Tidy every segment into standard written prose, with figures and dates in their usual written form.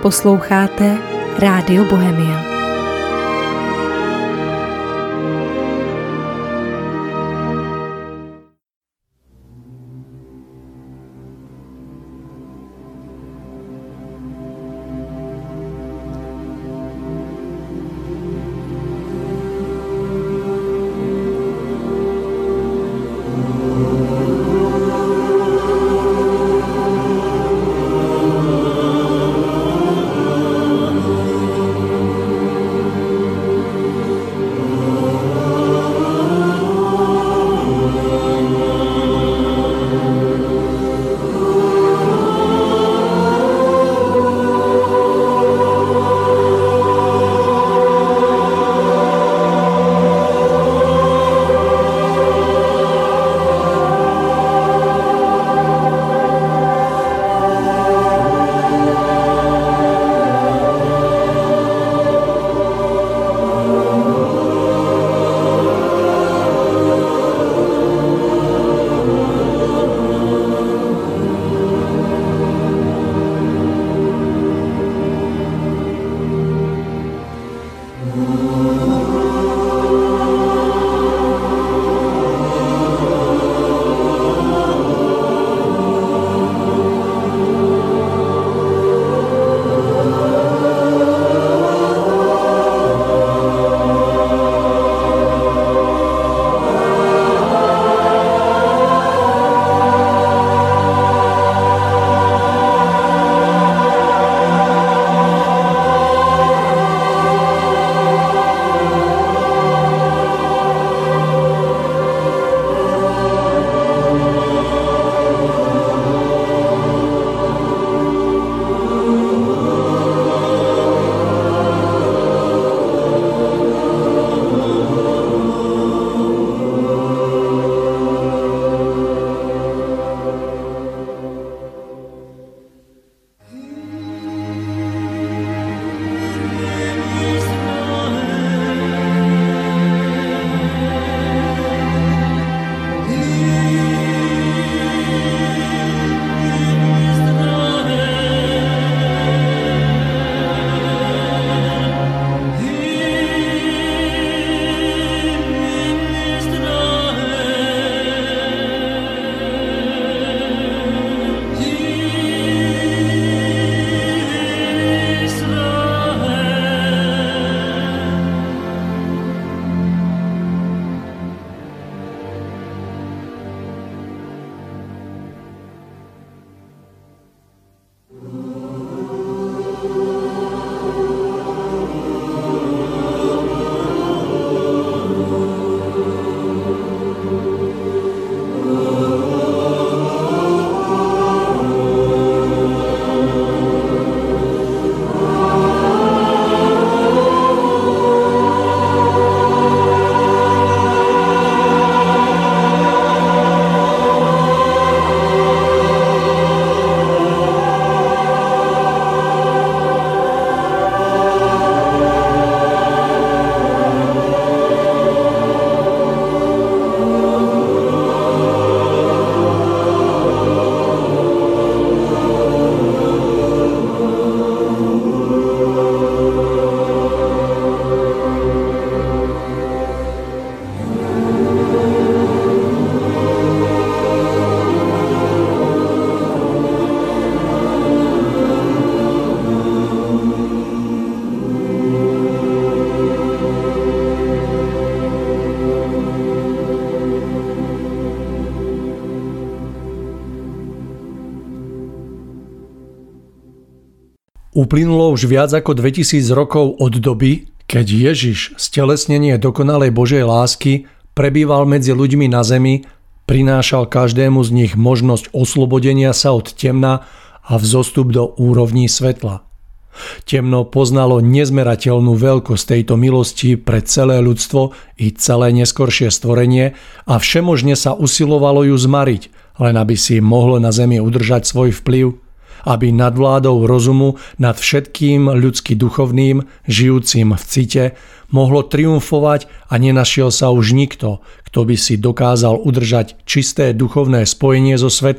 Posloucháte Rádio Bohemia. Uplynulo už viac ako 2000 rokov od doby, keď Ježiš, stelesnenie dokonalej Božej lásky, prebýval medzi ľuďmi na zemi, prinášal každému z nich možnosť oslobodenia sa od temna a vzostup do úrovní svetla. Temno poznalo nezmerateľnú veľkosť tejto milosti pre celé ľudstvo i celé neskoršie stvorenie a všemožne sa usilovalo ju zmariť, len aby si mohlo na zemi udržať svoj vplyv, aby nadvládou rozumu nad všetkým ľudsky duchovným, žijúcim v cite, mohlo triumfovať a nenašiel sa už nikto, kto by si dokázal udržať čisté duchovné spojenie so svetlom,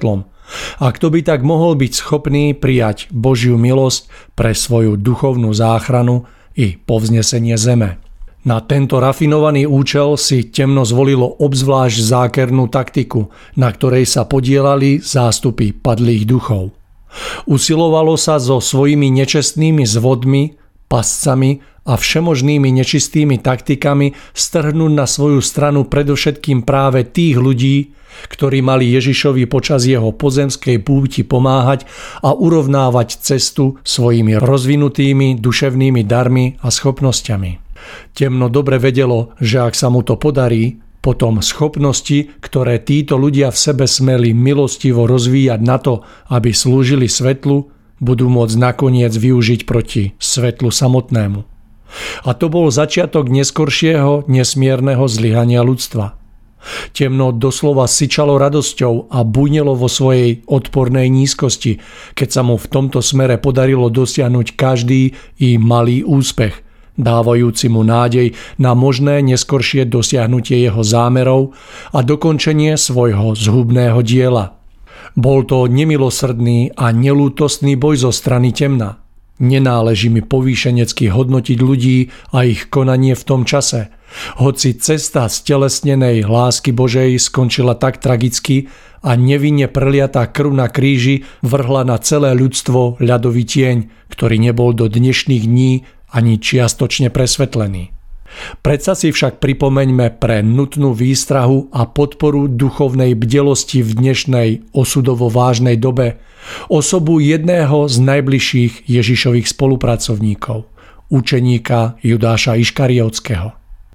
A kto by tak mohol byť schopný prijať Božiu milosť pre svoju duchovnú záchranu i povznesenie zeme? Na tento rafinovaný účel si temno zvolilo obzvlášť zákernú taktiku, na ktorej sa podielali zástupy padlých duchov. Usilovalo sa so svojimi nečestnými zvodmi, pascami a všemožnými nečistými taktikami strhnúť na svoju stranu predovšetkým práve tých ľudí, ktorí mali Ježišovi počas jeho pozemskej púti pomáhať a urovnávať cestu svojimi rozvinutými duševnými darmi a schopnosťami. Temno dobre vedelo, že ak sa mu to podarí, potom schopnosti, ktoré títo ľudia v sebe smeli milostivo rozvíjať na to, aby slúžili svetlu, budú môcť nakoniec využiť proti svetlu samotnému. A to bol začiatok neskoršieho nesmierneho zlyhania ľudstva. Temno doslova syčalo radosťou a bujnelo vo svojej odpornej nízkosti, keď sa mu v tomto smere podarilo dosiahnuť každý i malý úspech, dávajúci mu nádej na možné neskoršie dosiahnutie jeho zámerov a dokončenie svojho zhubného diela. Bol to nemilosrdný a nelútostný boj zo strany temna. Nenáleží mi povýšenecky hodnotiť ľudí a ich konanie v tom čase, hoci cesta stelesnenej lásky Božej skončila tak tragicky a nevinne preliatá krv na kríži vrhla na celé ľudstvo ľadový tieň, ktorý nebol do dnešných dní ani čiastočne presvetlený. Predsa si však pripomeňme pre nutnú výstrahu a podporu duchovnej bdelosti v dnešnej osudovo vážnej dobe osobu jedného z najbližších Ježišových spolupracovníkov, učeníka Judáša Iškariotského.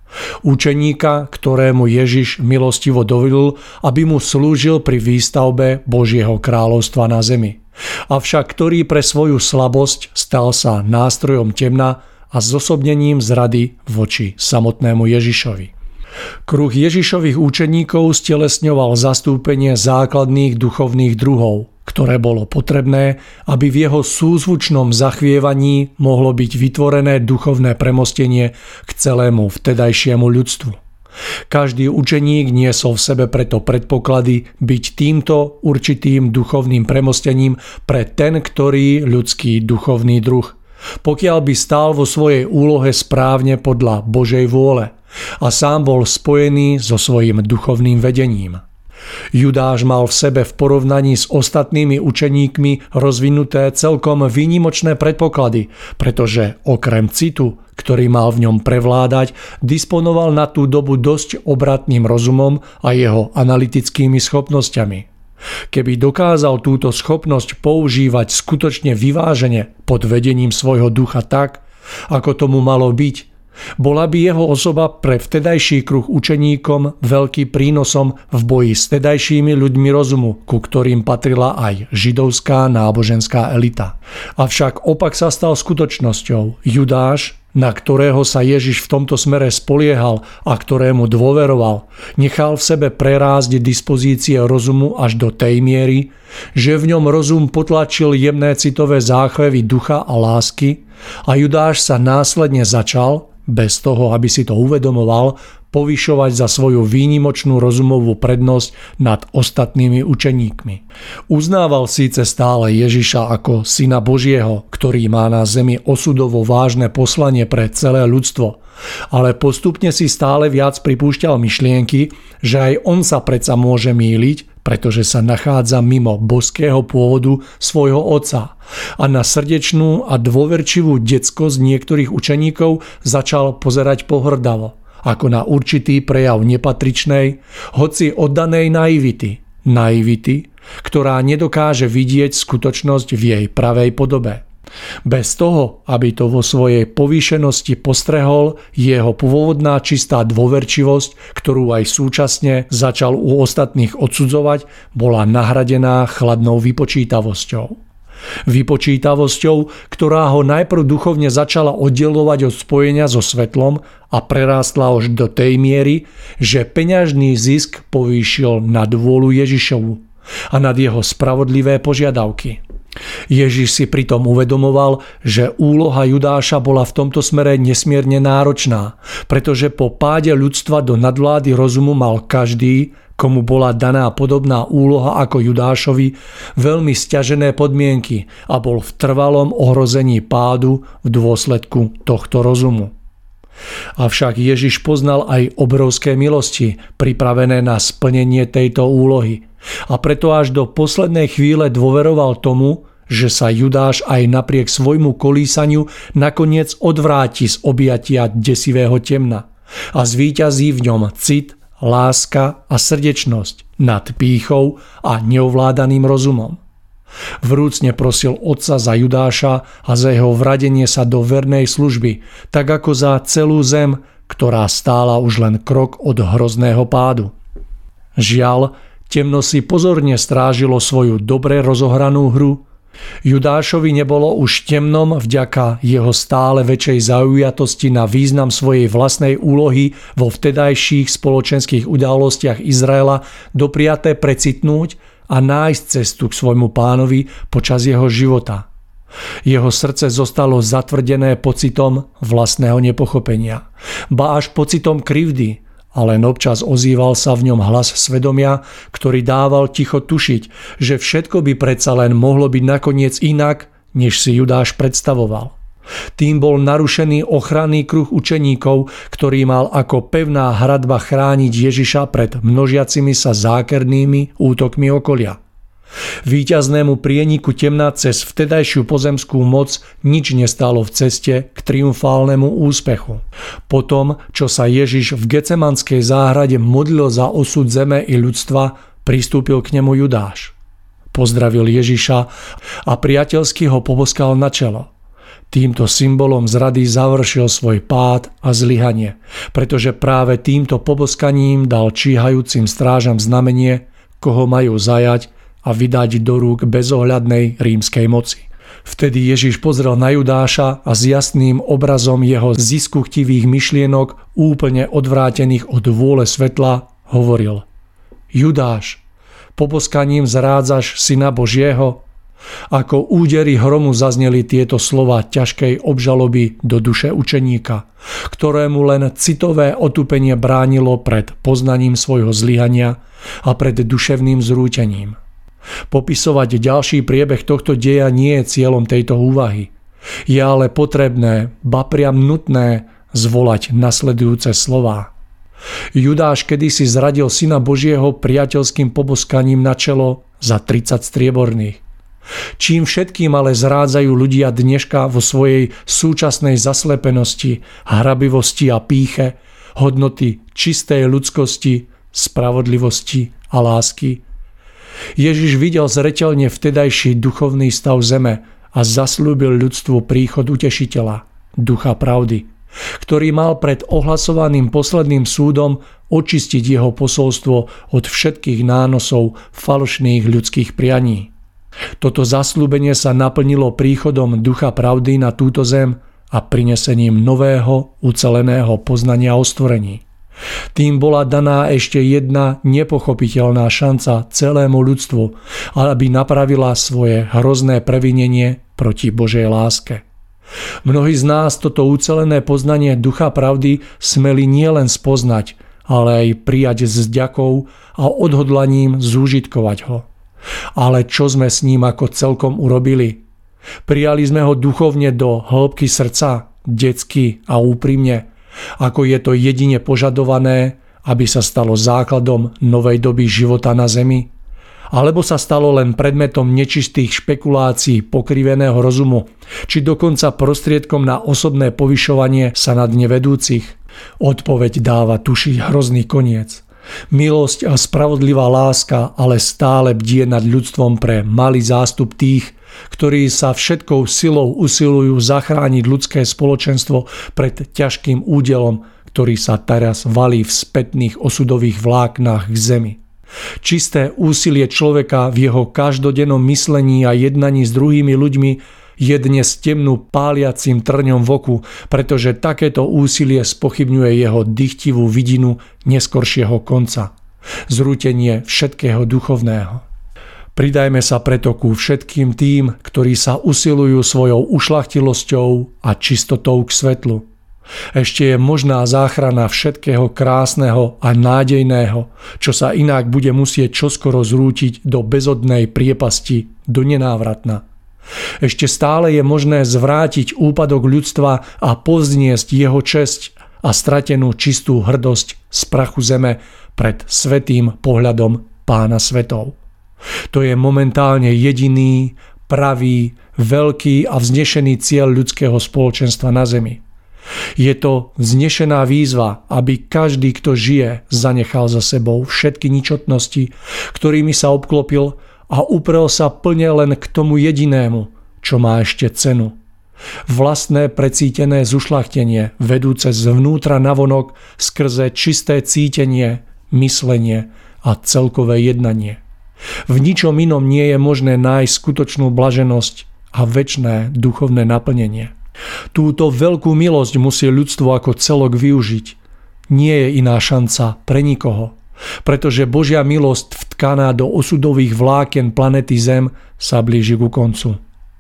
Učeníka, ktorému Ježiš milostivo dovolil, aby mu slúžil pri výstavbe Božieho kráľovstva na zemi. Avšak ktorý pre svoju slabosť stal sa nástrojom temna a zosobnením zrady voči samotnému Ježišovi. Kruh Ježišových učeníkov stelesňoval zastúpenie základných duchovných druhov, ktoré bolo potrebné, aby v jeho súzvučnom zachvievaní mohlo byť vytvorené duchovné premostenie k celému vtedajšiemu ľudstvu. Každý učeník niesol v sebe preto predpoklady byť týmto určitým duchovným premostením pre ten, ktorý ľudský duchovný druh, pokiaľ by stál vo svojej úlohe správne podľa Božej vôle a sám bol spojený so svojím duchovným vedením. Judáš mal v sebe v porovnaní s ostatnými učeníkmi rozvinuté celkom výnimočné predpoklady, pretože okrem citu, ktorý mal v ňom prevládať, disponoval na tú dobu dosť obratným rozumom a jeho analytickými schopnosťami. Keby dokázal túto schopnosť používať skutočne vyvážene pod vedením svojho ducha tak, ako tomu malo byť, bola by jeho osoba pre vtedajší kruh učeníkom veľkým prínosom v boji s vtedajšími ľuďmi rozumu, ku ktorým patrila aj židovská náboženská elita. Avšak opak sa stal skutočnosťou. Judáš, na ktorého sa Ježiš v tomto smere spoliehal a ktorému dôveroval, nechal v sebe prerásť dispozície rozumu až do tej miery, že v ňom rozum potlačil jemné citové záchvevy ducha a lásky a Judáš sa následne začal, bez toho, aby si to uvedomoval, povyšovať za svoju výnimočnú rozumovú prednosť nad ostatnými učeníkmi. Uznával síce stále Ježiša ako syna Božieho, ktorý má na zemi osudovo vážne poslanie pre celé ľudstvo, ale postupne si stále viac pripúšťal myšlienky, že aj on sa predsa môže mýliť, pretože sa nachádza mimo božského pôvodu svojho otca a na srdečnú a dôverčivú detskosť niektorých učeníkov začal pozerať pohŕdavo, ako na určitý prejav nepatričnej, hoci oddanej naivity, ktorá nedokáže vidieť skutočnosť v jej pravej podobe. Bez toho, aby to vo svojej povýšenosti postrehol, jeho pôvodná čistá dôverčivosť, ktorú aj súčasne začal u ostatných odsudzovať, bola nahradená chladnou vypočítavosťou. Vypočítavosťou, ktorá ho najprv duchovne začala oddelovať od spojenia so svetlom a prerástla až do tej miery, že peňažný zisk povýšil nad vôľu Ježišovu a nad jeho spravodlivé požiadavky. Ježiš si pritom uvedomoval, že úloha Judáša bola v tomto smere nesmierne náročná, pretože po páde ľudstva do nadvlády rozumu mal každý, komu bola daná podobná úloha ako Judášovi, veľmi sťažené podmienky a bol v trvalom ohrození pádu v dôsledku tohto rozumu. Avšak Ježiš poznal aj obrovské milosti pripravené na splnenie tejto úlohy a preto až do poslednej chvíle dôveroval tomu, že sa Judáš aj napriek svojmu kolísaniu nakoniec odvráti z objatia desivého temna a zvíťazí v ňom cit, láska a srdečnosť nad pýchou a neovládaným rozumom. Vrúcne prosil Otca za Judáša a za jeho vradenie sa do vernej služby, tak ako za celú zem, ktorá stála už len krok od hrozného pádu. Žiaľ, temno si pozorne strážilo svoju dobre rozohranú hru. Judášovi nebolo už temnom vďaka jeho stále väčšej zaujatosti na význam svojej vlastnej úlohy vo vtedajších spoločenských udalostiach Izraela dopriaté precitnúť a nájsť cestu k svojmu pánovi počas jeho života. Jeho srdce zostalo zatvrdené pocitom vlastného nepochopenia, ba až pocitom krivdy, a len občas ozýval sa v ňom hlas svedomia, ktorý dával ticho tušiť, že všetko by predsa len mohlo byť nakoniec inak, než si Judáš predstavoval. Tým bol narušený ochranný kruh učeníkov, ktorý mal ako pevná hradba chrániť Ježiša pred množiacimi sa zákernými útokmi okolia. Víťaznému prieniku temna cez vtedajšiu pozemskú moc nič nestálo v ceste k triumfálnemu úspechu. Potom, čo sa Ježiš v Getsemanskej záhrade modlil za osud zeme i ľudstva, pristúpil k nemu Judáš. Pozdravil Ježiša a priateľsky ho poboskal na čelo. Týmto symbolom zrady završil svoj pád a zlyhanie, pretože práve týmto poboskaním dal číhajúcim strážam znamenie, koho majú zajať a vydať do rúk bezohľadnej rímskej moci. Vtedy Ježiš pozrel na Judáša a s jasným obrazom jeho ziskuchtivých myšlienok, úplne odvrátených od vôle svetla, hovoril: Judáš, poboskaním zrádzaš Syna Božieho? Ako údery hromu zazneli tieto slova ťažkej obžaloby do duše učeníka, ktorému len citové otupenie bránilo pred poznaním svojho zlyhania a pred duševným zrútením. Popisovať ďalší priebeh tohto deja nie je cieľom tejto úvahy. Je ale potrebné, ba priam nutné, zvolať nasledujúce slová. Judáš kedysi zradil Syna Božieho priateľským poboskaním na čelo za 30 strieborných. Čím všetkým ale zrádzajú ľudia dneška vo svojej súčasnej zaslepenosti, hrabivosti a pýche hodnoty čistej ľudskosti, spravodlivosti a lásky. Ježiš videl zreteľne vtedajší duchovný stav zeme a zasľúbil ľudstvu príchod utešiteľa, ducha pravdy, ktorý mal pred ohlasovaným posledným súdom očistiť jeho posolstvo od všetkých nánosov falošných ľudských prianí. Toto zasľúbenie sa naplnilo príchodom ducha pravdy na túto zem a prinesením nového, uceleného poznania o stvorení. Tým bola daná ešte jedna nepochopiteľná šanca celému ľudstvu, aby napravila svoje hrozné previnenie proti Božej láske. Mnohí z nás toto ucelené poznanie ducha pravdy smeli nielen spoznať, ale aj prijať s vďakou a odhodlaním zúžitkovať ho. Ale čo sme s ním ako celkom urobili? Prijali sme ho duchovne do hĺbky srdca, detsky a úprimne, ako je to jedine požadované, aby sa stalo základom novej doby života na zemi? Alebo sa stalo len predmetom nečistých špekulácií pokriveného rozumu, či dokonca prostriedkom na osobné povyšovanie sa nad nevedúcich? Odpoveď dáva tušiť hrozný koniec. Milosť a spravodlivá láska ale stále bdie nad ľudstvom pre malý zástup tých, ktorí sa všetkou silou usilujú zachrániť ľudské spoločenstvo pred ťažkým údelom, ktorý sa teraz valí v spätných osudových vláknach k zemi. Čisté úsilie človeka v jeho každodennom myslení a jednaní s druhými ľuďmi je dnes temnú páliacím trňom v oku, pretože takéto úsilie spochybňuje jeho dychtivú vidinu neskoršieho konca. Zrútenie všetkého duchovného. Pridajme sa preto ku všetkým tým, ktorí sa usilujú svojou ušľachtilosťou a čistotou k svetlu. Ešte je možná záchrana všetkého krásneho a nádejného, čo sa inak bude musieť čoskoro zrútiť do bezodnej priepasti, do nenávratna. Ešte stále je možné zvrátiť úpadok ľudstva a povzniesť jeho česť a stratenú čistú hrdosť z prachu zeme pred svätým pohľadom Pána svetov. To je momentálne jediný, pravý, veľký a vznešený cieľ ľudského spoločenstva na zemi. Je to vznešená výzva, aby každý, kto žije, zanechal za sebou všetky ničotnosti, ktorými sa obklopil a uprel sa plne len k tomu jedinému, čo má ešte cenu. Vlastné precítené zušľachtenie, vedúce zvnútra navonok skrze čisté cítenie, myslenie a celkové jednanie. V ničom inom nie je možné nájsť skutočnú blaženosť a večné duchovné naplnenie. Túto veľkú milosť musí ľudstvo ako celok využiť. Nie je iná šanca pre nikoho, pretože Božia milosť vtkaná do osudových vlákien planety Zem sa blíži ku koncu.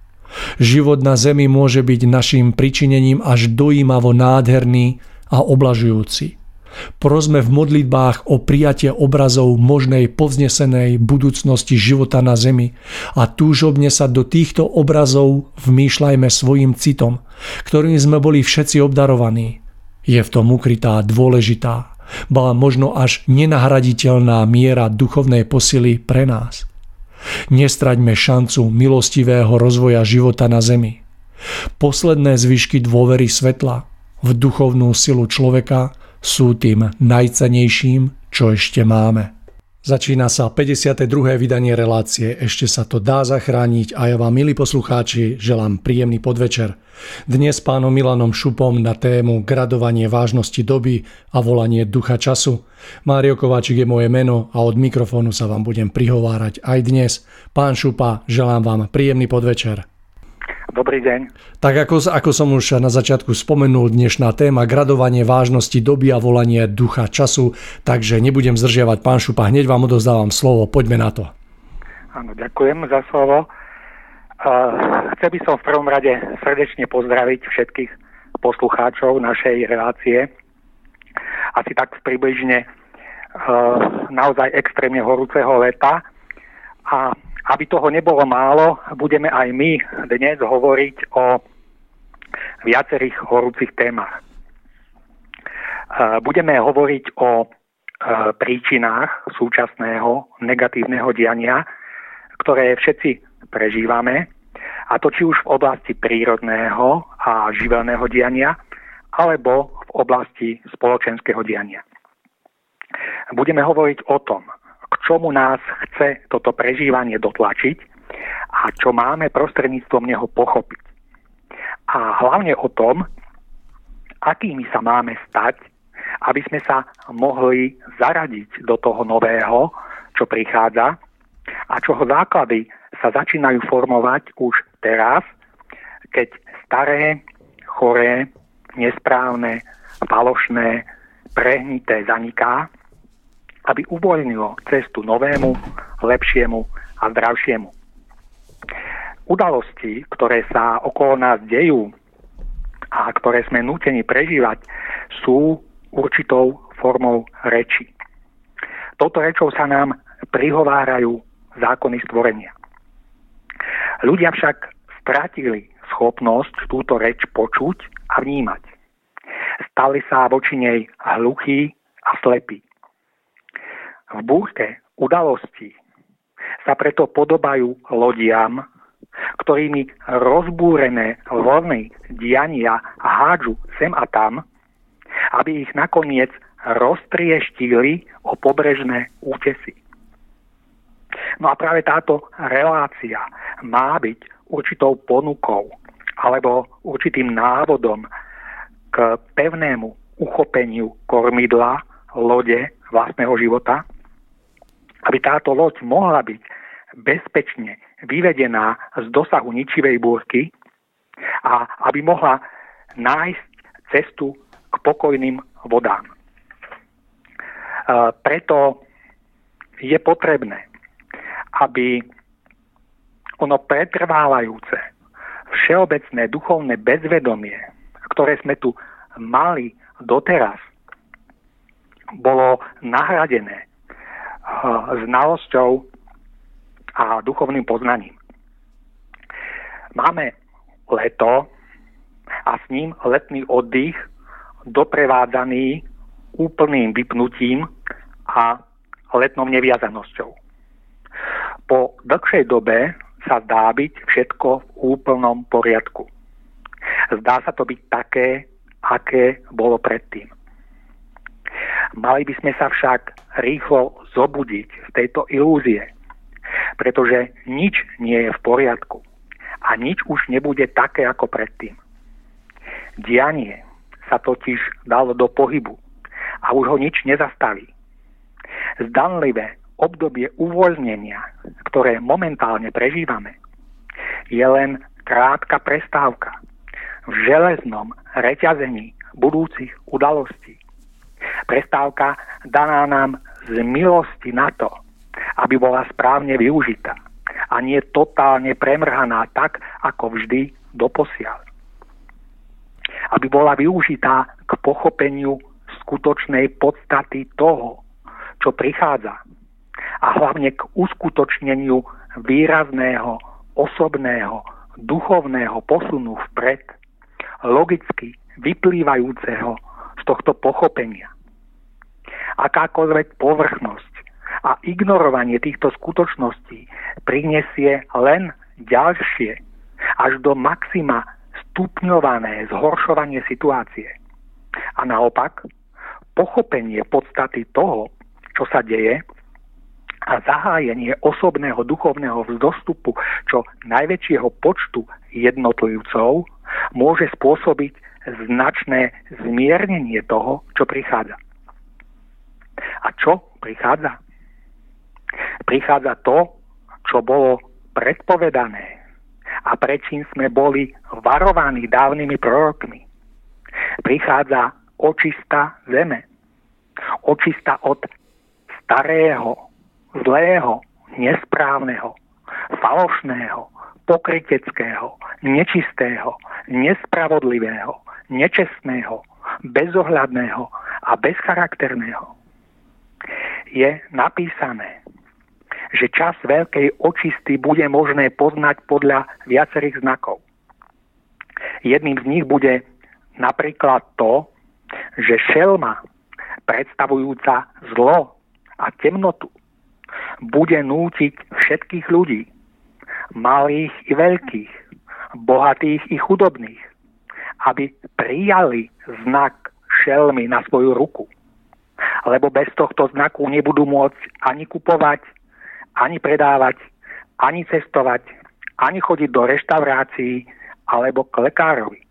Život na Zemi môže byť našim pričinením až dojímavo nádherný a oblažujúci. Prosme v modlitbách o prijatie obrazov možnej povznesenej budúcnosti života na Zemi a túžobne sa do týchto obrazov vmýšľajme svojim citom, ktorým sme boli všetci obdarovaní. Je v tom ukrytá dôležitá, ba možno až nenahraditeľná miera duchovnej posily pre nás. Nestraťme šancu milostivého rozvoja života na Zemi. Posledné zvyšky dôvery svetla v duchovnú silu človeka sú tým najcennejším, čo ešte máme. Začína sa 52. vydanie relácie Ešte sa to dá zachrániť a ja vám, milí poslucháči, želám príjemný podvečer. Dnes s pánom Milanom Šupom na tému gradovanie vážnosti doby a volanie ducha času. Mário Kováčik je moje meno a od mikrofónu sa vám budem prihovárať aj dnes. Pán Šupa, želám vám príjemný podvečer. Dobrý deň. Tak ako som už na začiatku spomenul, dnešná téma gradovanie vážnosti doby a volanie ducha času, takže nebudem zdržiavať, pán Šupa, hneď vám odovzdávam slovo, poďme na to. Áno, ďakujem za slovo. Chcel by som v prvom rade srdečne pozdraviť všetkých poslucháčov našej relácie. Asi tak približne naozaj extrémne horúceho leta a aby toho nebolo málo, budeme aj my dnes hovoriť o viacerých horúcich témach. Budeme hovoriť o príčinách súčasného negatívneho diania, ktoré všetci prežívame, a to či už v oblasti prírodného a živelného diania, alebo v oblasti spoločenského diania. Budeme hovoriť o tom, k čomu nás chce toto prežívanie dotlačiť a čo máme prostredníctvom neho pochopiť. A hlavne o tom, akými sa máme stať, aby sme sa mohli zaradiť do toho nového, čo prichádza a čoho základy sa začínajú formovať už teraz, keď staré, choré, nesprávne, falošné, prehnité zaniká, aby uvoľnilo cestu novému, lepšiemu a zdravšiemu. Udalosti, ktoré sa okolo nás dejú a ktoré sme nútení prežívať, sú určitou formou reči. Touto rečou sa nám prihovárajú zákony stvorenia. Ľudia však stratili schopnosť túto reč počuť a vnímať. Stali sa voči nej hluchí a slepí. V búrke udalostí sa preto podobajú lodiam, ktorými rozbúrené vlny diania hádžu sem a tam, aby ich nakoniec roztrieštili o pobrežné útesy. No a práve táto relácia má byť určitou ponukou alebo určitým návodom k pevnému uchopeniu kormidla lode vlastného života, aby táto loď mohla byť bezpečne vyvedená z dosahu ničivej búrky a aby mohla nájsť cestu k pokojným vodám. Preto je potrebné, aby ono pretrvávajúce, všeobecné duchovné bezvedomie, ktoré sme tu mali doteraz, bolo nahradené znalosťou a duchovným poznaním. Máme leto a s ním letný oddych doprevádzaný úplným vypnutím a letnou neviazanosťou. Po dlhšej dobe sa zdá byť všetko v úplnom poriadku. Zdá sa to byť také, aké bolo predtým. Mali by sme sa však rýchlo zobudiť z tejto ilúzie, pretože nič nie je v poriadku a nič už nebude také ako predtým. Dianie sa totiž dalo do pohybu a už ho nič nezastaví. Zdanlivé obdobie uvoľnenia, ktoré momentálne prežívame, je len krátka prestávka v železnom reťazení budúcich udalostí. Prestávka daná nám z milosti na to, aby bola správne využitá a nie totálne premrhaná tak, ako vždy doposiaľ. Aby bola využitá k pochopeniu skutočnej podstaty toho, čo prichádza, a hlavne k uskutočneniu výrazného, osobného, duchovného posunu vpred, logicky vyplývajúceho z tohto pochopenia. Akákoľvek povrchnosť a ignorovanie týchto skutočností prinesie len ďalšie, až do maxima stupňované zhoršovanie situácie. A naopak, pochopenie podstaty toho, čo sa deje, a zahájenie osobného duchovného vzostupu čo najväčšieho počtu jednotlivcov môže spôsobiť značné zmiernenie toho, čo prichádza. A čo prichádza? Prichádza to, čo bolo predpovedané a prečím sme boli varovaní dávnymi prorokmi. Prichádza očista zeme. Očista od starého, zlého, nesprávneho, falošného, pokryteckého, nečistého, nespravodlivého, nečestného, bezohľadného a bezcharakterného. Je napísané, že čas veľkej očisty bude možné poznať podľa viacerých znakov. Jedným z nich bude napríklad to, že šelma, predstavujúca zlo a temnotu, bude nútiť všetkých ľudí, malých i veľkých, bohatých i chudobných, aby prijali znak šelmy na svoju ruku. Lebo bez tohto znaku nebudú môcť ani kupovať, ani predávať, ani cestovať, ani chodiť do reštaurácií alebo k lekárovi.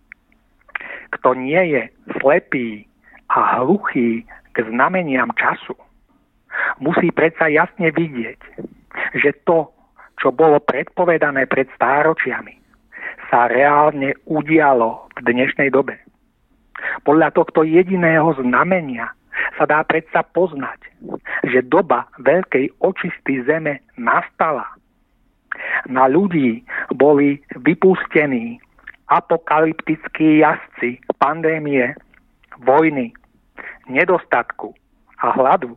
Kto nie je slepý a hluchý k znameniam času, musí predsa jasne vidieť, že to, čo bolo predpovedané pred stáročiami, sa reálne udialo v dnešnej dobe. Podľa tohto jediného znamenia sa dá predsa poznať, že doba veľkej očisty zeme nastala. Na ľudí boli vypustení apokalyptickí jazdci pandémie, vojny, nedostatku a hladu.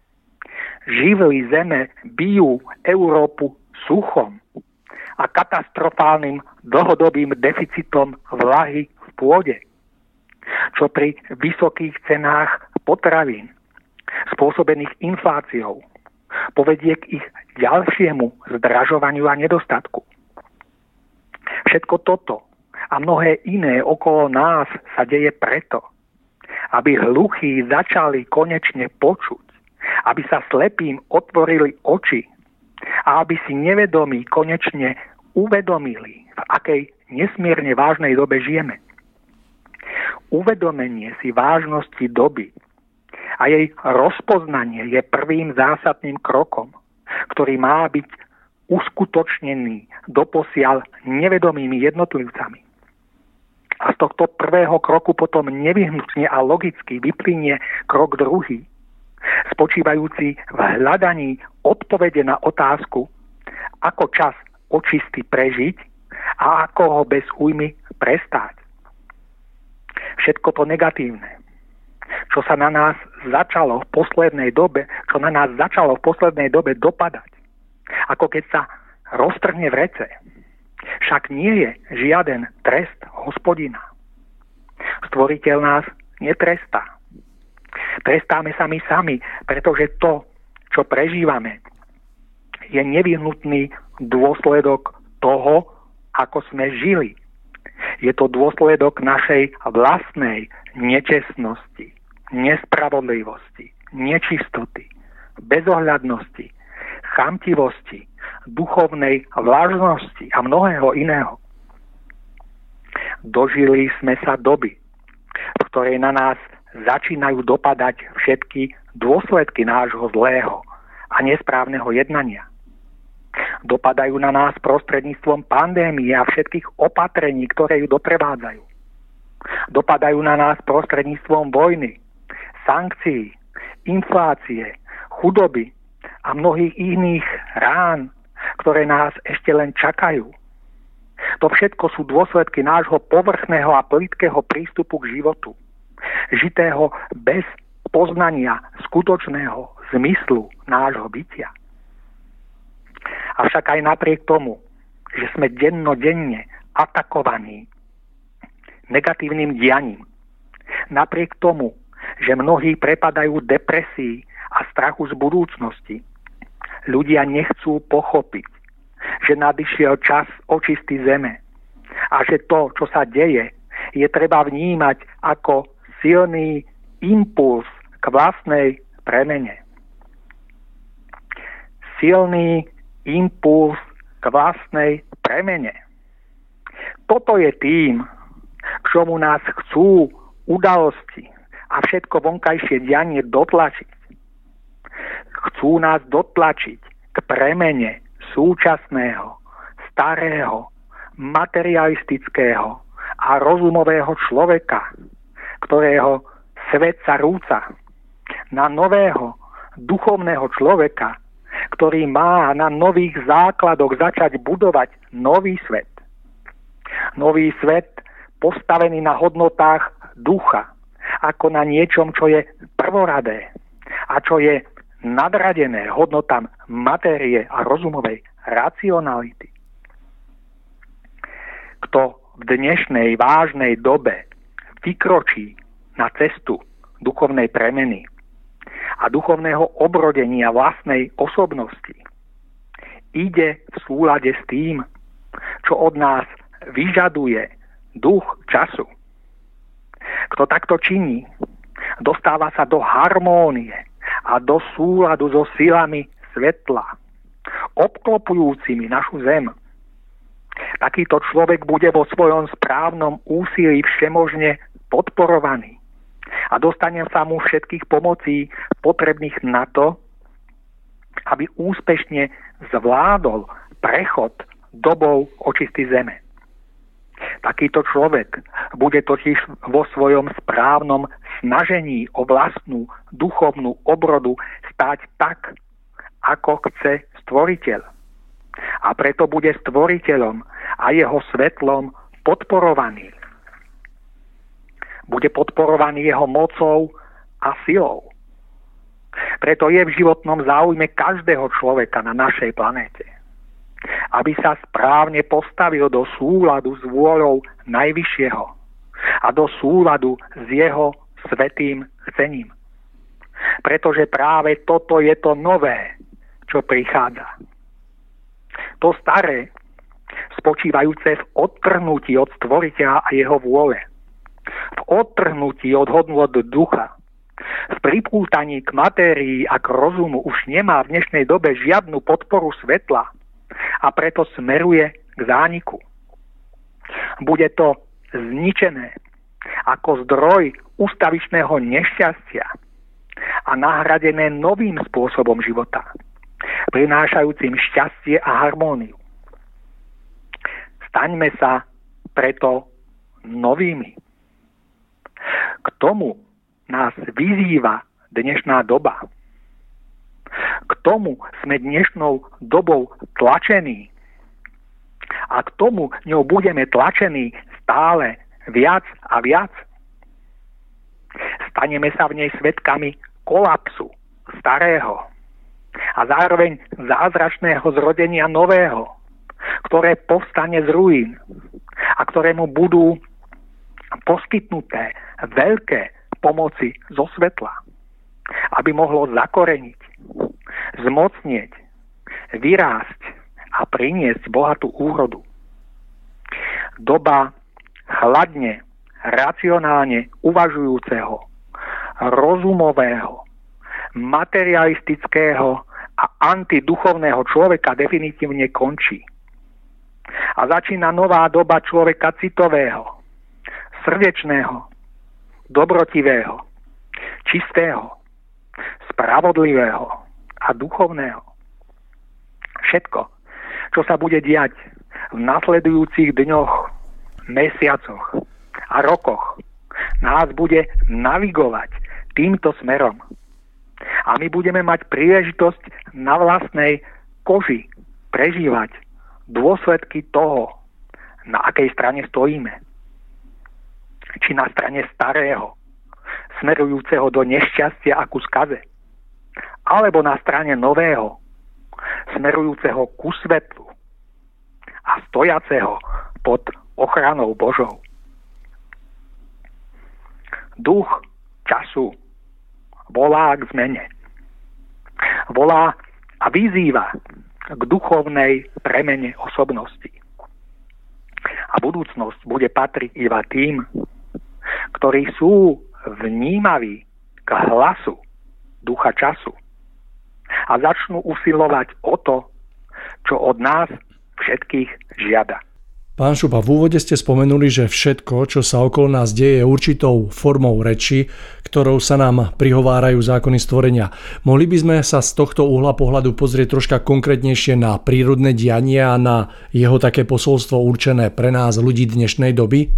Živly zeme bijú Európu suchom a katastrofálnym dlhodobým deficitom vlahy v pôde, čo pri vysokých cenách potravín spôsobených infláciou povedie k ich ďalšiemu zdražovaniu a nedostatku. Všetko toto a mnohé iné okolo nás sa deje preto, aby hluchí začali konečne počuť, aby sa slepým otvorili oči a aby si nevedomí konečne uvedomili, v akej nesmierne vážnej dobe žijeme. Uvedomenie si vážnosti doby a jej rozpoznanie je prvým zásadným krokom, ktorý má byť uskutočnený doposiaľ nevedomými jednotlivcami. A z tohto prvého kroku potom nevyhnutne a logicky vyplynie krok druhý, spočívajúci v hľadaní odpovede na otázku, ako čas očistý prežiť a ako ho bez újmy prestať. Všetko to negatívne, čo na nás začalo v poslednej dobe dopadať, ako keď sa roztrhne vrece, však nie je žiaden trest Hospodina. Stvoriteľ nás netrestá. Trestáme sa my sami, pretože to, čo prežívame, je nevyhnutný dôsledok toho, ako sme žili. Je to dôsledok našej vlastnej nečestnosti, nespravodlivosti, nečistoty, bezohľadnosti, chamtivosti, duchovnej vlažnosti a mnohého iného. Dožili sme sa doby, v ktorej na nás začínajú dopadať všetky dôsledky nášho zlého a nesprávneho jednania. Dopadajú na nás prostredníctvom pandémie a všetkých opatrení, ktoré ju doprevádzajú. Dopadajú na nás prostredníctvom vojny, sankcií, inflácie, chudoby a mnohých iných rán, ktoré nás ešte len čakajú. To všetko sú dôsledky nášho povrchného a plytkého prístupu k životu, žitého bez poznania skutočného zmyslu nášho bytia. Avšak aj napriek tomu, že sme dennodenne atakovaní negatívnym dianím, napriek tomu, že mnohí prepadajú depresii a strachu z budúcnosti, ľudia nechcú pochopiť, že nadišiel čas očistý zeme a že to, čo sa deje, je treba vnímať ako silný impuls k vlastnej premene. Silný impuls k vlastnej premene. Toto je tým, k čomu nás chcú udalosti a všetko vonkajšie dianie dotlačiť. Chcú nás dotlačiť k premene súčasného, starého, materialistického a rozumového človeka, ktorého svet sa rúca, na nového, duchovného človeka, ktorý má na nových základoch začať budovať nový svet. Nový svet postavený na hodnotách ducha, ako na niečom, čo je prvoradé a čo je nadradené hodnotám matérie a rozumovej racionality. Kto v dnešnej vážnej dobe vykročí na cestu duchovnej premeny a duchovného obrodenia vlastnej osobnosti, ide v súlade s tým, čo od nás vyžaduje duch času. Kto takto činí, dostáva sa do harmónie a do súladu so silami svetla, obklopujúcimi našu zem. Takýto človek bude vo svojom správnom úsilí všemožne podporovaný a dostane sa mu všetkých pomocí potrebných na to, aby úspešne zvládol prechod dobou očistý zeme. Takýto človek bude totiž vo svojom správnom snažení o vlastnú duchovnú obrodu stáť tak, ako chce Stvoriteľ. A preto bude Stvoriteľom a jeho svetlom podporovaný. Bude podporovaný jeho mocou a silou. Preto je v životnom záujme každého človeka na našej planéte, aby sa správne postavil do súladu s vôľou Najvyššieho a do súladu s jeho svätým chcením. Pretože práve toto je to nové, čo prichádza. To staré, spočívajúce v odtrhnutí od Stvoriteľa a jeho vôle, v odtrhnutí od hodnôt ducha, v pripútaní k matérii a k rozumu už nemá v dnešnej dobe žiadnu podporu svetla a preto smeruje k zániku. Bude to zničené ako zdroj ustavičného nešťastia a nahradené novým spôsobom života, prinášajúcim šťastie a harmóniu. Staňme sa preto novými. K tomu nás vyzýva dnešná doba. K tomu sme dnešnou dobou tlačení, a k tomu ňou budeme tlačení stále viac a viac, staneme sa v nej svedkami kolapsu starého a zároveň zázračného zrodenia nového, ktoré povstane z ruín a ktorému budú poskytnuté veľké pomoci zo svetla, aby mohlo zakoreniť, zmocnieť, vyrásť a priniesť bohatú úrodu. Doba chladne, racionálne uvažujúceho, rozumového, materialistického a antiduchovného človeka definitívne končí. A začína nová doba človeka citového, srdečného, dobrotivého, čistého, spravodlivého a duchovného. Všetko, čo sa bude diať v nasledujúcich dňoch, mesiacoch a rokoch, nás bude navigovať týmto smerom. A my budeme mať príležitosť na vlastnej koži prežívať dôsledky toho, na akej strane stojíme. Či na strane starého, smerujúceho do nešťastia a ku skaze, alebo na strane nového, smerujúceho ku svetlu a stojaceho pod ochranou Božou. Duch času volá k zmene. Volá a vyzýva k duchovnej premene osobnosti. A budúcnosť bude patriť iba tým, ktorí sú vnímaví k hlasu ducha času a začnú usilovať o to, čo od nás všetkých žiada. Pán Šupa, v úvode ste spomenuli, že všetko, čo sa okolo nás deje, je určitou formou reči, ktorou sa nám prihovárajú zákony stvorenia. Mohli by sme sa z tohto uhla pohľadu pozrieť troška konkrétnejšie na prírodné dianie a na jeho také posolstvo určené pre nás, ľudí dnešnej doby?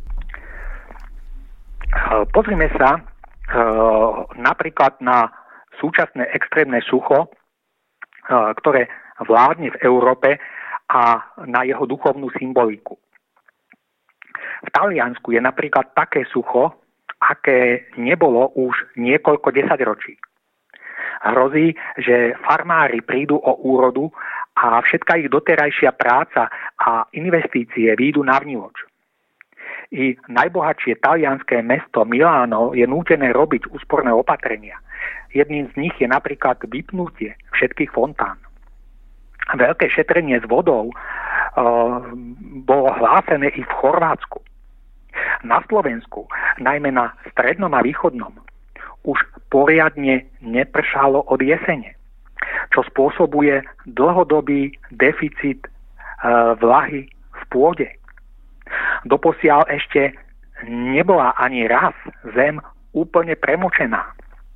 Pozrime sa napríklad na súčasné extrémne sucho, ktoré vládne v Európe, a na jeho duchovnú symboliku. V Taliansku je napríklad také sucho, aké nebolo už niekoľko desaťročí. Hrozí, že farmári prídu o úrodu a všetká ich doterajšia práca a investície výjdu na vnívoč. I najbohatšie talianské mesto Miláno je nútené robiť úsporné opatrenia. Jedným z nich je napríklad vypnutie všetkých fontán. Veľké šetrenie s vodou bolo hlásené i v Chorvátsku. Na Slovensku, najmä na strednom a východnom, už poriadne nepršalo od jesene, čo spôsobuje dlhodobý deficit vlahy v pôde. Doposiaľ ešte nebola ani raz zem úplne premočená.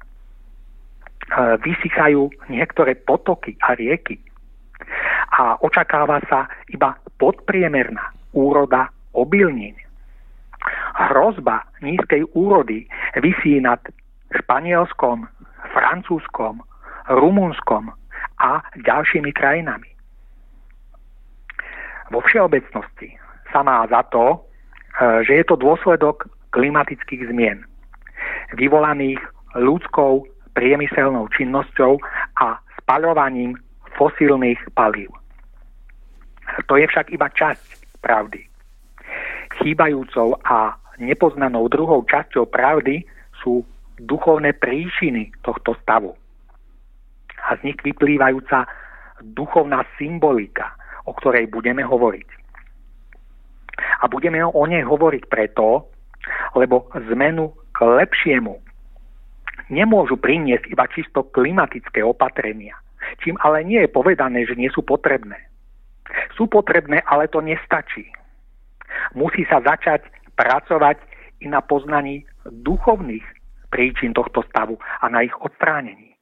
Vysychajú niektoré potoky a rieky. A očakáva sa iba podpriemerná úroda obilnín. Hrozba nízkej úrody visí nad Španielskom, Francúzskom, Rumunskom a ďalšími krajinami. Vo všeobecnosti sa má za to, že je to dôsledok klimatických zmien, vyvolaných ľudskou priemyselnou činnosťou a spaľovaním fosílnych palív. To je však iba časť pravdy. Chýbajúcou a nepoznanou druhou časťou pravdy sú duchovné príčiny tohto stavu. A z nich vyplývajúca duchovná symbolika, o ktorej budeme hovoriť. A budeme o nej hovoriť preto, lebo zmenu k lepšiemu nemôžu priniesť iba čisto klimatické opatrenia, čím ale nie je povedané, že nie sú potrebné. Sú potrebné, ale to nestačí. Musí sa začať pracovať i na poznaní duchovných príčin tohto stavu a na ich odstránení.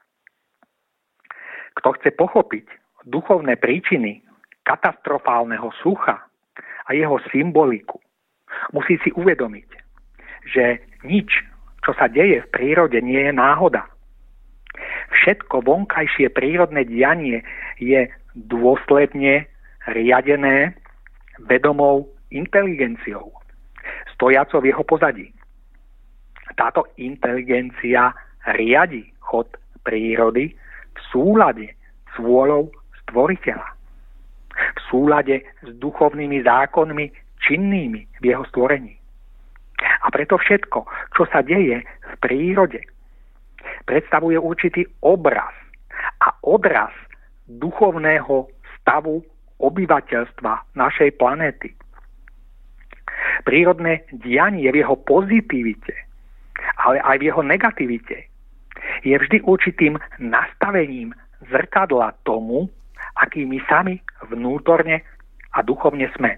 Kto chce pochopiť duchovné príčiny katastrofálneho sucha a jeho symboliku, musí si uvedomiť, že nič, čo sa deje v prírode, nie je náhoda. Všetko vonkajšie prírodné dianie je dôsledne riadené vedomou inteligenciou, stojacou v jeho pozadí. Táto inteligencia riadi chod prírody v súlade s vôľou stvoriteľa. V súlade s duchovnými zákonmi činnými v jeho stvorení. A preto všetko, čo sa deje v prírode, predstavuje určitý obraz a odraz duchovného stavu obyvateľstva našej planéty. Prírodné dianie v jeho pozitivite, ale aj v jeho negativite je vždy určitým nastavením zrkadla tomu, aký my sami vnútorne a duchovne sme.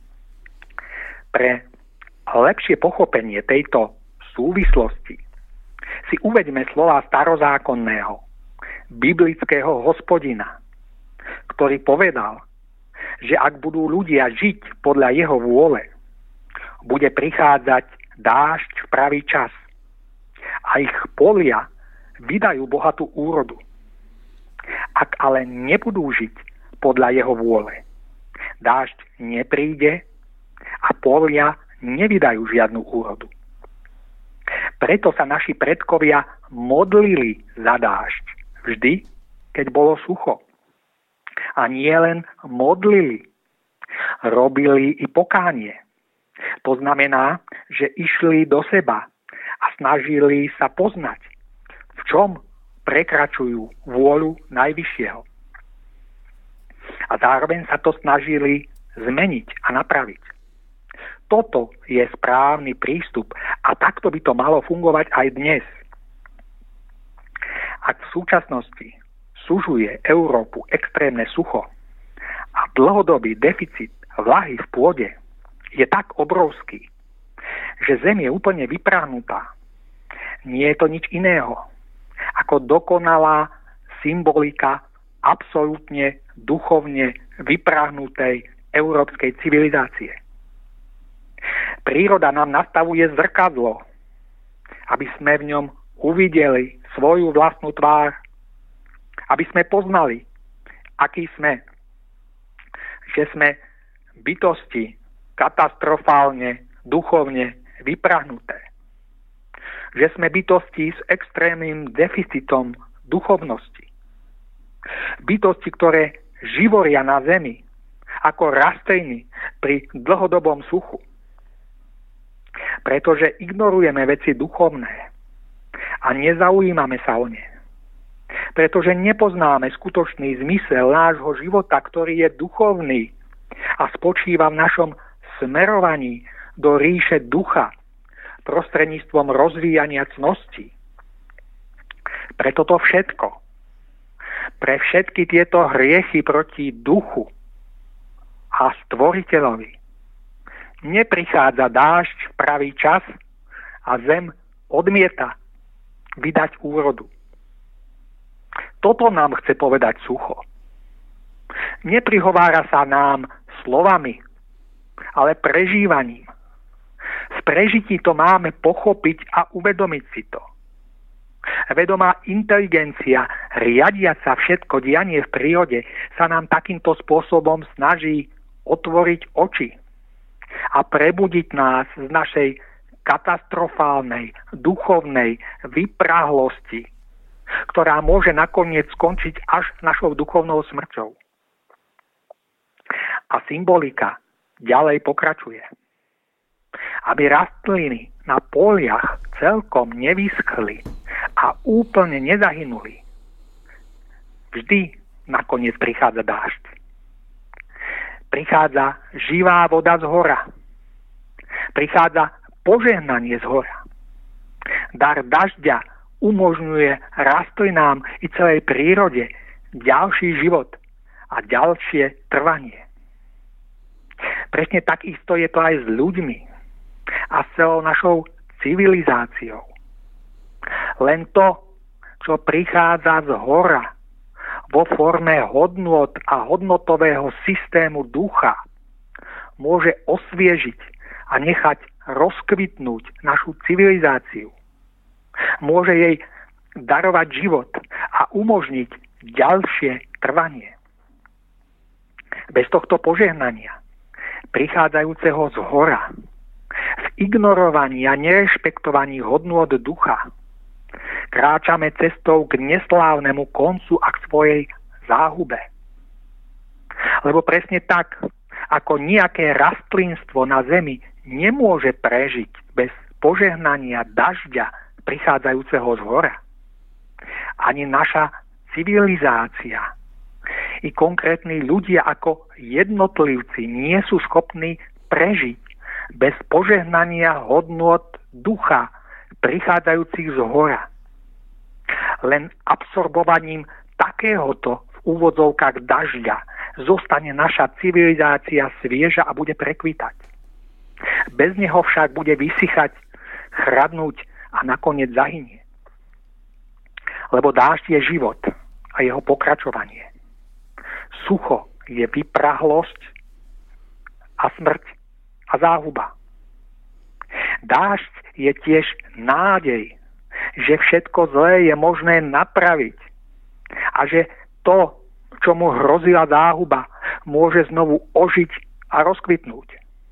Pre lepšie pochopenie tejto súvislosti si uveďme slova starozákonného, biblického Hospodina, ktorý povedal, že ak budú ľudia žiť podľa jeho vôle, bude prichádzať dážď v pravý čas a ich polia vydajú bohatú úrodu. Ak ale nebudú žiť podľa jeho vôle, dážď nepríde a polia nevydajú žiadnu úrodu. Preto sa naši predkovia modlili za dážď vždy, keď bolo sucho. A nie len modlili, robili i pokánie. To znamená, že išli do seba a snažili sa poznať, v čom prekračujú vôľu Najvyššieho. A zároveň sa to snažili zmeniť a napraviť. Toto je správny prístup a takto by to malo fungovať aj dnes. Ak v súčasnosti sužuje Európu extrémne sucho a dlhodobý deficit vlahy v pôde je tak obrovský, že zem je úplne vyprahnutá, nie je to nič iného ako dokonalá symbolika absolútne duchovne vyprahnutej európskej civilizácie. Príroda nám nastavuje zrkadlo, aby sme v ňom uvideli svoju vlastnú tvár, aby sme poznali, akí sme, že sme bytosti katastrofálne, duchovne vyprahnuté, že sme bytosti s extrémnym deficitom duchovnosti, bytosti, ktoré živoria na zemi ako rastliny pri dlhodobom suchu. Pretože ignorujeme veci duchovné a nezaujímame sa o ne. Pretože nepoznáme skutočný zmysel nášho života, ktorý je duchovný a spočíva v našom smerovaní do ríše ducha prostredníctvom rozvíjania cností. Pre toto všetko, pre všetky tieto hriechy proti duchu a stvoriteľovi neprichádza dážď v pravý čas a zem odmieta vydať úrodu. Toto nám chce povedať sucho. Neprihovára sa nám slovami, ale prežívaním. V prežití to máme pochopiť a uvedomiť si to. Vedomá inteligencia, riadiaca všetko dianie v prírode, sa nám takýmto spôsobom snaží otvoriť oči a prebudiť nás z našej katastrofálnej, duchovnej vyprahlosti, ktorá môže nakoniec skončiť až našou duchovnou smrťou. A symbolika ďalej pokračuje. Aby rastliny na poliach celkom nevyschli a úplne nezahynuli, vždy nakoniec prichádza dážď. Prichádza živá voda z hora. Prichádza požehnanie z hora. Dar dažďa umožňuje rastlinám i celej prírode ďalší život a ďalšie trvanie. Presne takisto je to aj s ľuďmi a s celou našou civilizáciou. Len to, čo prichádza z hora vo forme hodnôt a hodnotového systému ducha, môže osviežiť a nechať rozkvitnúť našu civilizáciu. Môže jej darovať život a umožniť ďalšie trvanie. Bez tohto požehnania prichádzajúceho z hora, v ignorovaní a nerešpektovaní hodnôt ducha, kráčame cestou k neslávnemu koncu a k svojej záhube. Lebo presne tak, ako nejaké rastlinstvo na zemi nemôže prežiť bez požehnania dažďa prichádzajúceho z hora, ani naša civilizácia i konkrétni ľudia ako jednotlivci nie sú schopní prežiť bez požehnania hodnôt ducha prichádzajúcich z hora. Len absorbovaním takéhoto v úvodzovkách dažďa zostane naša civilizácia svieža a bude prekvitať. Bez neho však bude vysychať, chradnúť a nakoniec zahynie. Lebo dážď je život a jeho pokračovanie. Sucho je vyprahlosť a smrť a záhuba. Dážď je tiež nádej, že všetko zlé je možné napraviť a že to, čo mu hrozila záhuba, môže znovu ožiť a rozkvitnúť.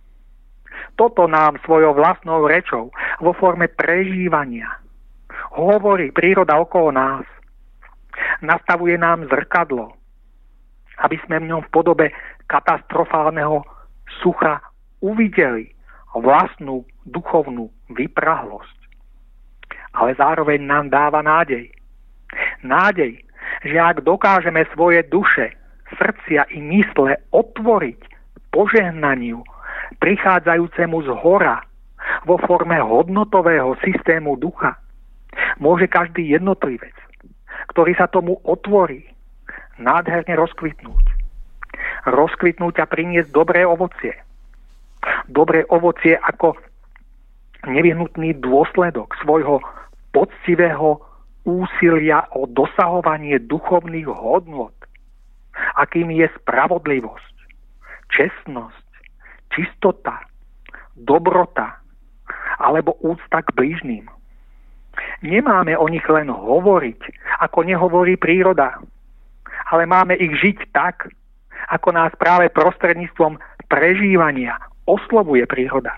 Toto nám svojou vlastnou rečou vo forme prežívania hovorí príroda okolo nás. Nastavuje nám zrkadlo, aby sme v ňom v podobe katastrofálneho sucha uvideli vlastnú duchovnú vyprahlosť. Ale zároveň nám dáva nádej. Nádej, že ak dokážeme svoje duše, srdcia i mysle otvoriť požehnaniu prichádzajúcemu z hora vo forme hodnotového systému ducha, môže každý jednotlivec, ktorý sa tomu otvorí, nádherne rozkvitnúť. Rozkvitnúť a priniesť dobré ovocie. Dobré ovocie ako nevyhnutný dôsledok svojho poctivého úsilia o dosahovanie duchovných hodnôt, akým je spravodlivosť, čestnosť, čistota, dobrota alebo úcta k blížnym. Nemáme o nich len hovoriť, ako nehovorí príroda, ale máme ich žiť tak, ako nás práve prostredníctvom prežívania oslovuje príroda.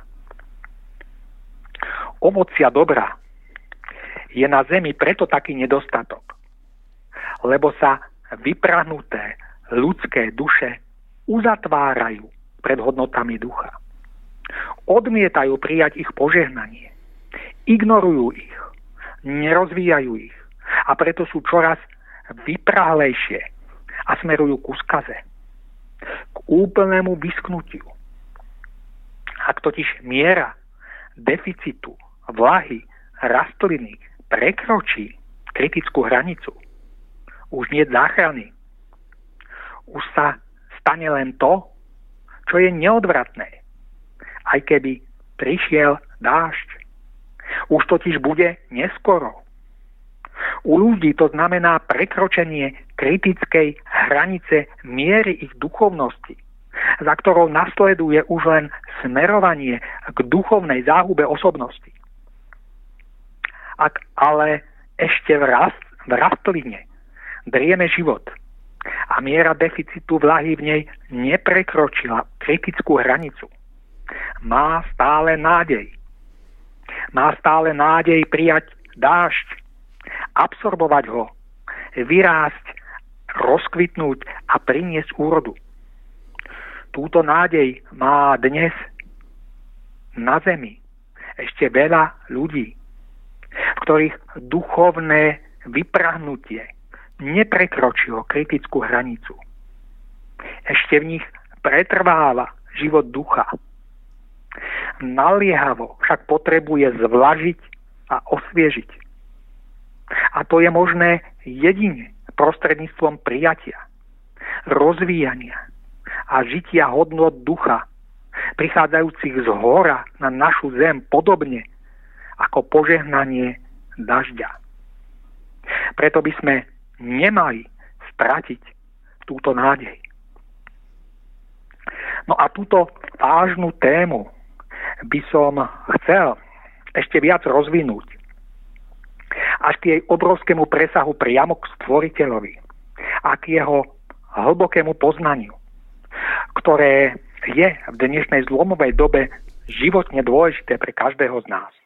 Ovocia dobra je na zemi preto taký nedostatok, lebo sa vyprahnuté ľudské duše uzatvárajú pred hodnotami ducha. Odmietajú prijať ich požehnanie, ignorujú ich, nerozvíjajú ich a preto sú čoraz vyprahlejšie a smerujú ku skaze, k úplnému vyschnutiu. Ak totiž miera deficitu vlahy rastliny prekročí kritickú hranicu, už nie je záchrany. Už sa stane len to, čo je neodvratné, aj keby prišiel dážď. Už totiž bude neskoro. U ľudí to znamená prekročenie kritickej hranice miery ich duchovnosti, za ktorou nasleduje už len smerovanie k duchovnej záhube osobnosti. Ak ale ešte v rastline drieme život a miera deficitu vlahy v nej neprekročila kritickú hranicu, má stále nádej. Má stále nádej prijať dážď, absorbovať ho, vyrásť, rozkvitnúť a priniesť úrodu. Túto nádej má dnes na zemi ešte veľa ľudí, v ktorých duchovné vyprahnutie neprekročilo kritickú hranicu. Ešte v nich pretrváva život ducha. Naliehavo však potrebuje zvlažiť a osviežiť. A to je možné jedine prostredníctvom prijatia, rozvíjania a žitia hodnôt ducha, prichádzajúcich z hora na našu zem podobne ako požehnanie dažďa. Preto by sme nemali stratiť túto nádej. No a túto vážnu tému by som chcel ešte viac rozvinúť až k jej obrovskému presahu priamo k Stvoriteľovi a k jeho hlbokému poznaniu, ktoré je v dnešnej zlomovej dobe životne dôležité pre každého z nás.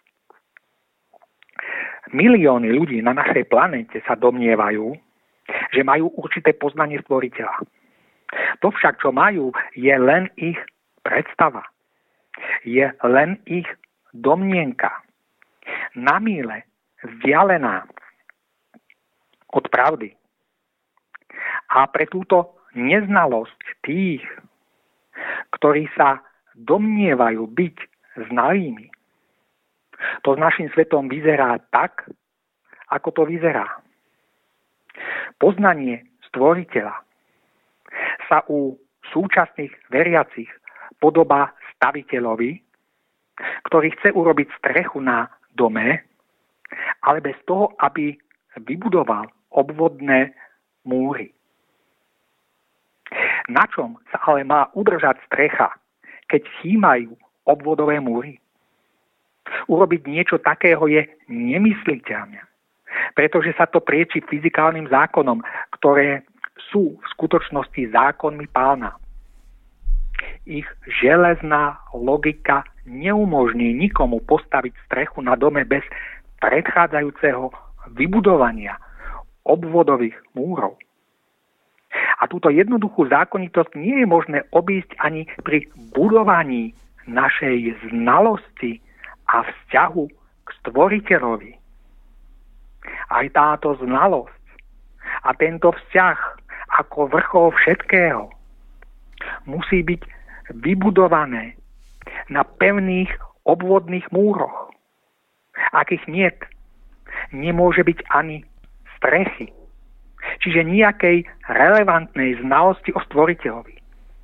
Milióny ľudí na našej planéte sa domnievajú, že majú určité poznanie stvoriteľa. To však, čo majú, je len ich predstava. Je len ich domnienka. Na míle vzdialená od pravdy. A pre túto neznalosť tých, ktorí sa domnievajú byť znalými, to s našim svetom vyzerá tak, ako to vyzerá. Poznanie stvoriteľa sa u súčasných veriacich podobá staviteľovi, ktorý chce urobiť strechu na dome, ale bez toho, aby vybudoval obvodné múry. Na čom sa ale má udržať strecha, keď chýmajú obvodové múry? Urobiť niečo takého je nemysliteľné, pretože sa to prieči fyzikálnym zákonom, ktoré sú v skutočnosti zákonmi Pána. Ich železná logika neumožní nikomu postaviť strechu na dome bez predchádzajúceho vybudovania obvodových múrov. A túto jednoduchú zákonitosť nie je možné obísť ani pri budovaní našej znalosti a vzťahu k stvoriteľovi. Aj táto znalosť a tento vzťah ako vrchol všetkého musí byť vybudované na pevných obvodných múroch. Akých niet, nemôže byť ani strechy, čiže nejakej relevantnej znalosti o stvoriteľovi.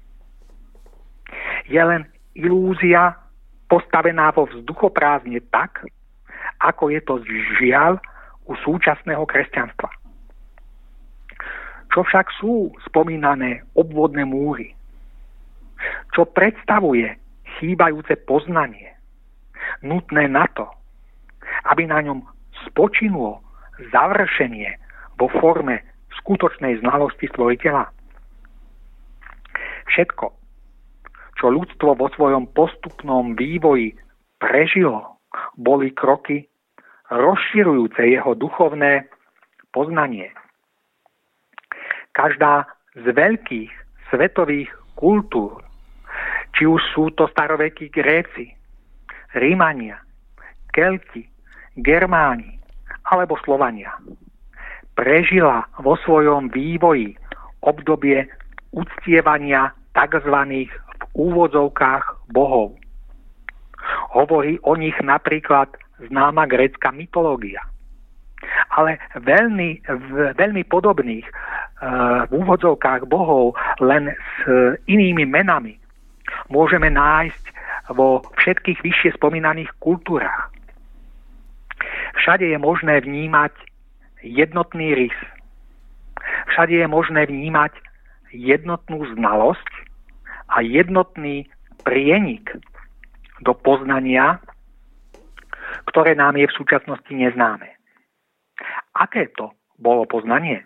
Je len ilúzia postavená vo vzduchoprázdne tak, ako je to žiaľ u súčasného kresťanstva. Čo však sú spomínané obvodné múry? Čo predstavuje chýbajúce poznanie, nutné na to, aby na ňom spočinulo završenie vo forme skutočnej znalosti stvoriteľa? Všetko, čo ľudstvo vo svojom postupnom vývoji prežilo, boli kroky rozširujúce jeho duchovné poznanie. Každá z veľkých svetových kultúr, či už sú to starovekí Gréci, Rímania, Kelti, Germáni alebo Slovania, prežila vo svojom vývoji obdobie uctievania tzv. V úvodzovkách bohov. Hovorí o nich napríklad známa grécka mytológia. Ale veľmi podobných v úvodzovkách bohov len s inými menami môžeme nájsť vo všetkých vyššie spomínaných kultúrach. Všade je možné vnímať jednotný rys. Všade je možné vnímať jednotnú znalosť a jednotný prienik do poznania, ktoré nám je v súčasnosti neznáme. Aké to bolo poznanie?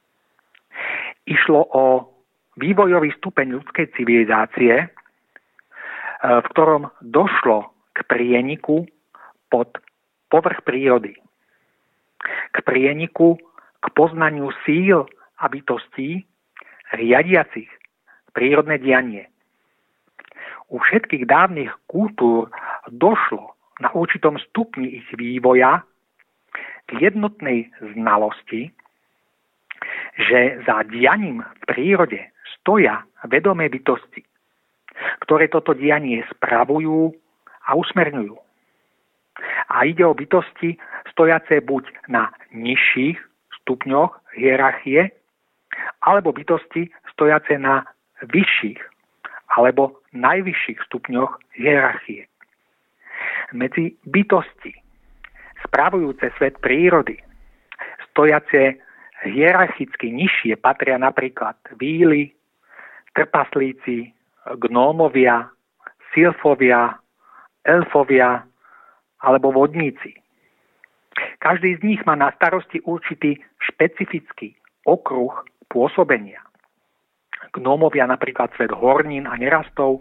Išlo o vývojový stupeň ľudskej civilizácie, v ktorom došlo k prieniku pod povrch prírody. K prieniku k poznaniu síl a bytostí riadiacich prírodné dianie. U všetkých dávnych kultúr došlo na určitom stupni ich vývoja k jednotnej znalosti, že za dianím v prírode stoja vedomé bytosti, ktoré toto dianie spravujú a usmerňujú. A ide o bytosti stojace buď na nižších stupňoch hierarchie, alebo bytosti stojace na vyšších alebo najvyšších stupňoch hierarchie. Medzi bytosti spravujúce svet prírody stojace hierarchicky nižšie patria napríklad víly, trpaslíci, gnómovia, sylfovia, elfovia alebo vodníci. Každý z nich má na starosti určitý špecifický okruh pôsobenia. Gnómovia napríklad svet hornín a nerastov,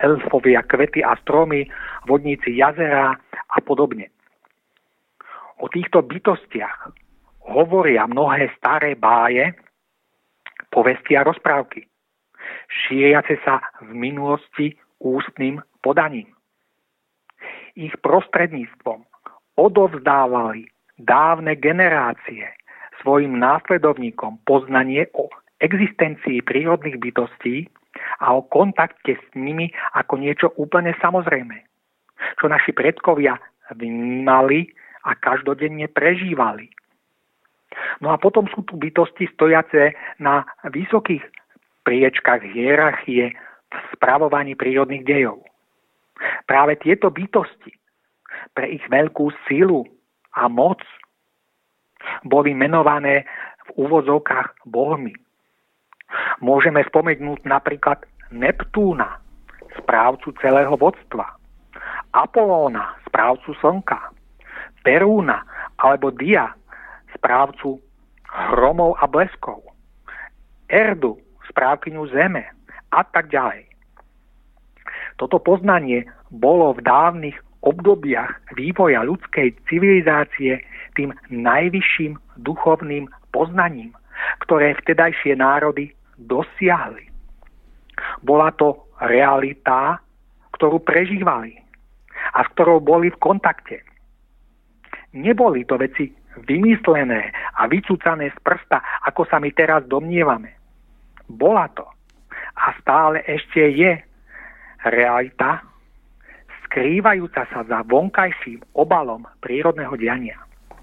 elfovia, kvety a stromy, vodníci jazera a podobne. O týchto bytostiach hovoria mnohé staré báje, povesti a rozprávky, šíriace sa v minulosti ústnym podaním. Ich prostredníctvom odovzdávali dávne generácie svojim následovníkom poznanie o existencii prírodných bytostí a o kontakte s nimi ako niečo úplne samozrejme, čo naši predkovia vnímali a každodenne prežívali. No a potom sú tu bytosti stojace na vysokých priečkách hierarchie v spravovaní prírodných dejov. Práve tieto bytosti pre ich veľkú silu a moc boli menované v úvodzovkách bohmi. Môžeme spomenúť napríklad Neptúna, správcu celého vodstva, Apolóna, správcu slnka, Perúna alebo Dia, správcu hromov a bleskov, Erdu, správkyňu zeme a tak ďalej. Toto poznanie bolo v dávnych obdobiach vývoja ľudskej civilizácie tým najvyšším duchovným poznaním, ktoré vtedajšie národy dosiahli. Bola to realita, ktorú prežívali a s ktorou boli v kontakte. Neboli to veci vymyslené a vycúcané z prsta, ako sa my teraz domnievame. Bola to a stále ešte je realita, skrývajúca sa za vonkajším obalom prírodného diania.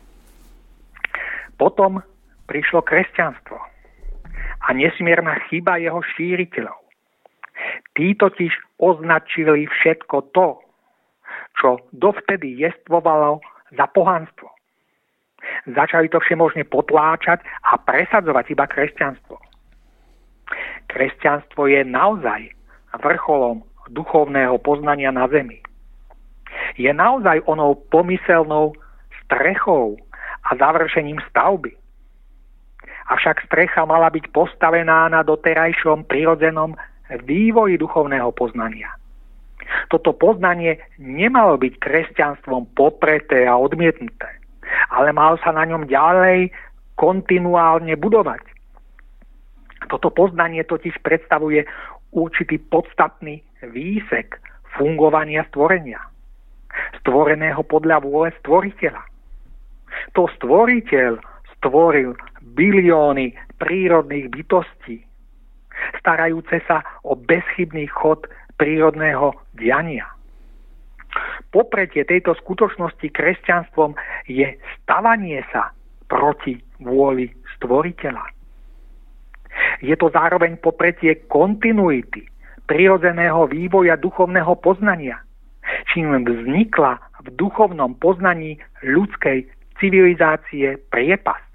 Potom prišlo kresťanstvo a nesmierna chyba jeho šíriteľov. Tí totiž označili všetko to, čo dovtedy jestvovalo, za pohanstvo. Začali to všemožne potláčať a presadzovať iba kresťanstvo. Kresťanstvo je naozaj vrcholom duchovného poznania na zemi. Je naozaj onou pomyselnou strechou a završením stavby. Avšak strecha mala byť postavená na doterajšom prirodzenom vývoji duchovného poznania. Toto poznanie nemalo byť kresťanstvom popreté a odmietnuté, ale malo sa na ňom ďalej kontinuálne budovať. Toto poznanie totiž predstavuje určitý podstatný výsek fungovania stvorenia, stvoreného podľa vôle stvoriteľa. To stvoriteľ stvoril bilióny prírodných bytostí, starajúce sa o bezchybný chod prírodného diania. Popretie tejto skutočnosti kresťanstvom je stavanie sa proti vôli stvoriteľa. Je to zároveň popretie kontinuity prirodzeného vývoja duchovného poznania, čím vznikla v duchovnom poznaní ľudskej civilizácie priepasť.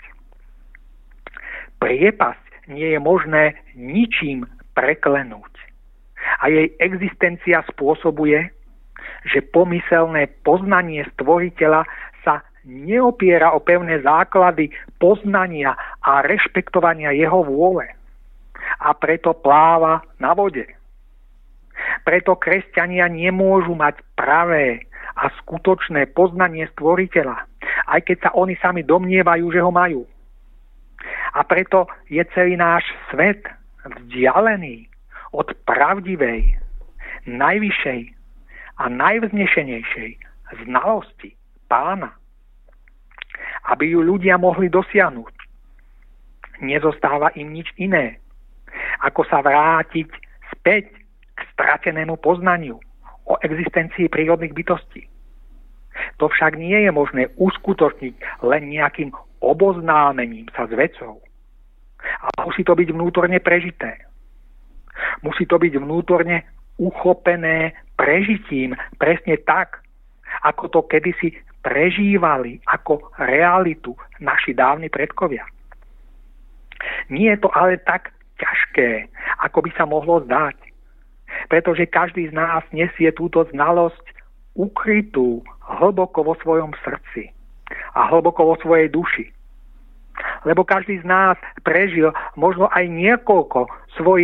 Priepasť nie je možné ničím preklenúť. A jej existencia spôsobuje, že pomyselné poznanie stvoriteľa sa neopiera o pevné základy poznania a rešpektovania jeho vôle. A preto pláva na vode. Preto kresťania nemôžu mať pravé a skutočné poznanie stvoriteľa, aj keď sa oni sami domnievajú, že ho majú. A preto je celý náš svet vzdialený od pravdivej, najvyššej a najvznešenejšej znalosti Pána. Aby ju ľudia mohli dosiahnuť, nezostáva im nič iné, ako sa vrátiť späť k stratenému poznaniu o existencii prírodných bytostí. To však nie je možné uskutočniť len nejakým oboznámením sa s vecou. Ale musí to byť vnútorne prežité. Musí to byť vnútorne uchopené prežitím presne tak, ako to kedysi prežívali ako realitu naši dávni predkovia. Nie je to ale tak ťažké, ako by sa mohlo zdať, pretože každý z nás nesie túto znalosť ukrytú hlboko vo svojom srdci a hlboko vo svojej duši. Lebo každý z nás prežil možno aj niekoľko svojich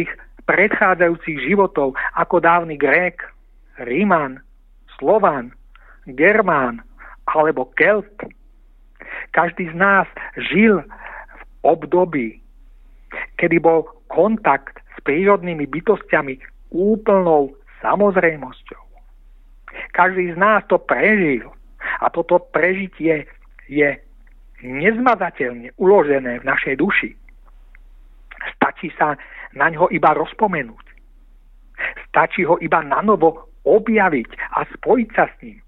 predchádzajúcich životov ako dávny Grék, Ríman, Slován, Germán alebo Kelt. Každý z nás žil v období, kedy bol kontakt s prírodnými bytostiami úplnou samozrejmosťou. Každý z nás to prežil a toto prežitie je nezmazateľne uložené v našej duši. Stačí sa na ňo iba rozpomenúť. Stačí ho iba nanovo objaviť a spojiť sa s ním.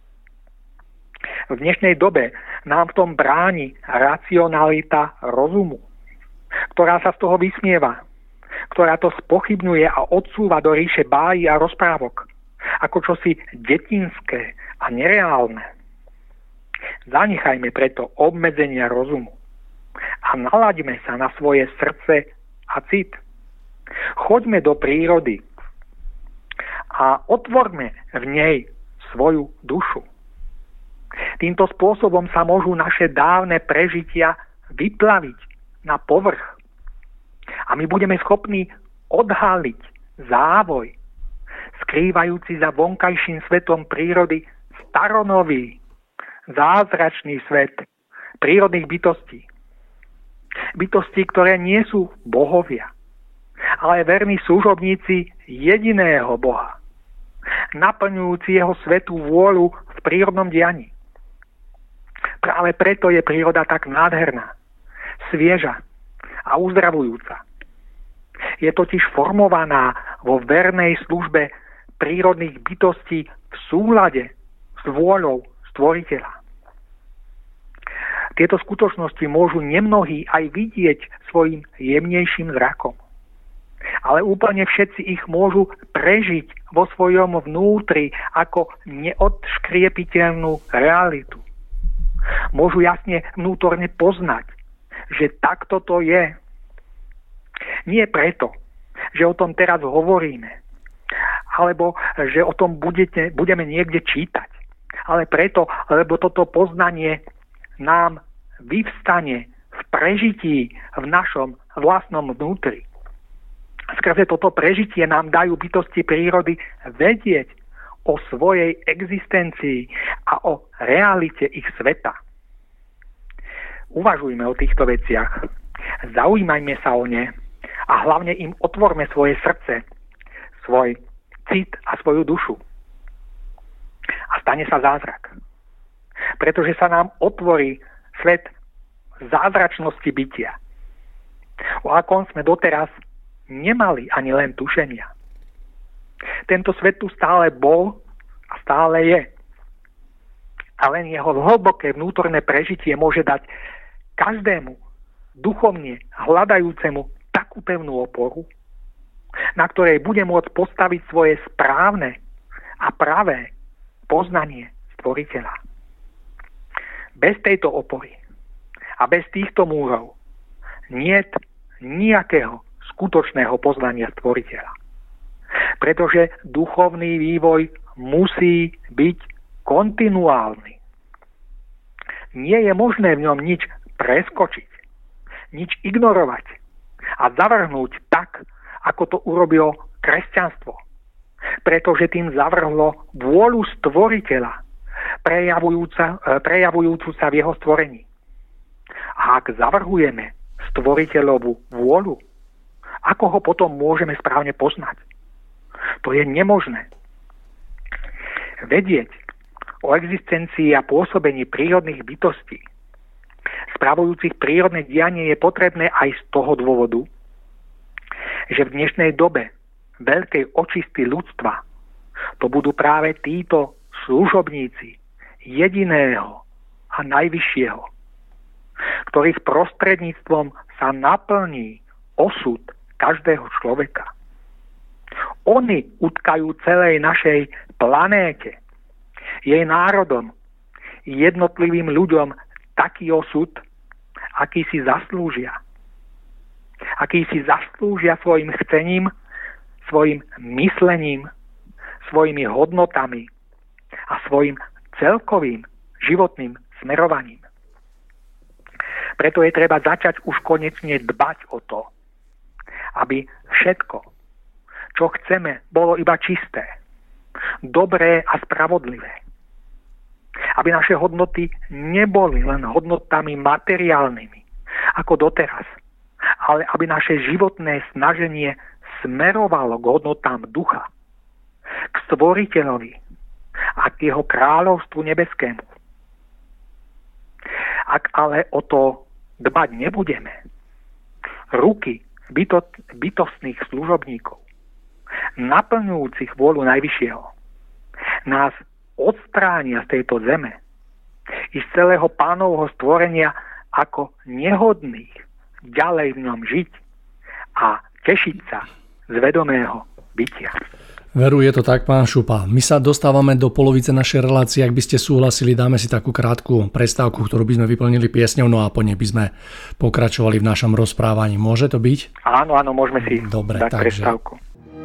V dnešnej dobe nám v tom bráni racionalita rozumu, ktorá sa z toho vysmieva, ktorá to spochybňuje a odsúva do ríše bájí a rozprávok, ako čosi detinské a nereálne. Zanechajme preto obmedzenia rozumu a nalaďme sa na svoje srdce a cit. Choďme do prírody a otvorme v nej svoju dušu. Týmto spôsobom sa môžu naše dávne prežitia vyplaviť na povrch. A my budeme schopní odhaliť závoj, skrývajúci za vonkajším svetom prírody staronový, zázračný svet prírodných bytostí. Bytosti, ktoré nie sú bohovia, ale verní služobníci jediného Boha, naplňujúci jeho svätú vôľu v prírodnom dianí. Práve preto je príroda tak nádherná, svieža a uzdravujúca. Je totiž formovaná vo vernej službe prírodných bytostí v súlade s vôľou Stvoriteľa. Tieto skutočnosti môžu nemnohí aj vidieť svojim jemnejším zrakom. Ale úplne všetci ich môžu prežiť vo svojom vnútri ako neodškriepiteľnú realitu. Môžu jasne vnútorne poznať, že takto to je. Nie preto, že o tom teraz hovoríme, alebo že o tom budeme niekde čítať, ale preto, lebo toto poznanie nám vyvstane v prežití v našom vlastnom vnútri. Skrze toto prežitie nám dajú bytosti prírody vedieť o svojej existencii a o realite ich sveta. Uvažujme o týchto veciach, zaujímajme sa o ne a hlavne im otvorme svoje srdce, svoj cit a svoju dušu. A stane sa zázrak. Pretože sa nám otvorí svet zázračnosti bytia, o akom sme doteraz nemali ani len tušenia. Tento svet tu stále bol a stále je. A len jeho hlboké vnútorné prežitie môže dať každému duchovne hľadajúcemu takú pevnú oporu, na ktorej bude môcť postaviť svoje správne a pravé poznanie Stvoriteľa. Bez tejto opory a bez týchto múrov niet nejakého skutočného poznania Stvoriteľa. Pretože duchovný vývoj musí byť kontinuálny. Nie je možné v ňom nič preskočiť, nič ignorovať a zavrhnúť tak, ako to urobilo kresťanstvo. Pretože tým zavrhlo vôľu Stvoriteľa, prejavujúcu sa v jeho stvorení. A ak zavrhujeme Stvoriteľovú vôľu, ako ho potom môžeme správne poznať? To je nemožné. Vedieť o existencii a pôsobení prírodných bytostí, spravujúcich prírodné dianie, je potrebné aj z toho dôvodu, že v dnešnej dobe veľkej očisty ľudstva to budú práve títo služobníci jediného a najvyššieho, ktorých prostredníctvom sa naplní osud každého človeka. Oni utkajú celej našej planéte, jej národom, jednotlivým ľuďom taký osud, aký si zaslúžia. Aký si zaslúžia svojim chcením, svojim myslením, svojimi hodnotami a svojim celkovým životným smerovaním. Preto je treba začať už konečne dbať o to, aby všetko, čo chceme, bolo iba čisté, dobré a spravodlivé. Aby naše hodnoty neboli len hodnotami materiálnymi, ako doteraz, ale aby naše životné snaženie smerovalo k hodnotám ducha, k Stvoriteľovi a k jeho kráľovstvu nebeskému. Ak ale o to dbať nebudeme, ruky bytostných služobníkov, naplňujúcich vôľu Najvyššieho, nás odstránia z tejto zeme i z celého Pánovho stvorenia ako nehodných ďalej v ňom žiť a tešiť sa z vedomého bytia. Veru, je to tak, pán Šupa. My sa dostávame do polovice našej relácie. Ak by ste súhlasili, dáme si takú krátku prestávku, ktorú by sme vyplnili piesňou, no a po nej by sme pokračovali v našom rozprávaní. Môže to byť? Áno, môžeme si dať prestávku.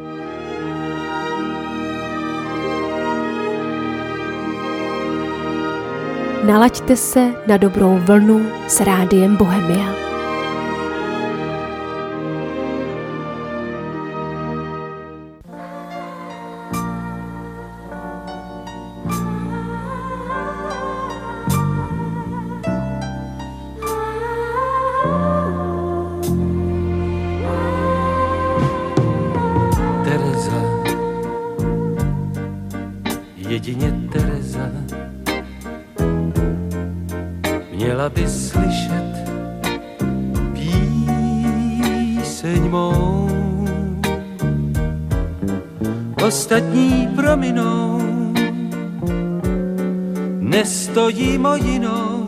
Nalaďte se na dobrou vlnu s Rádiem Bohemia. Jedině Tereza měla by slyšet píseň mou. Ostatní prominou, nestojím o jinou,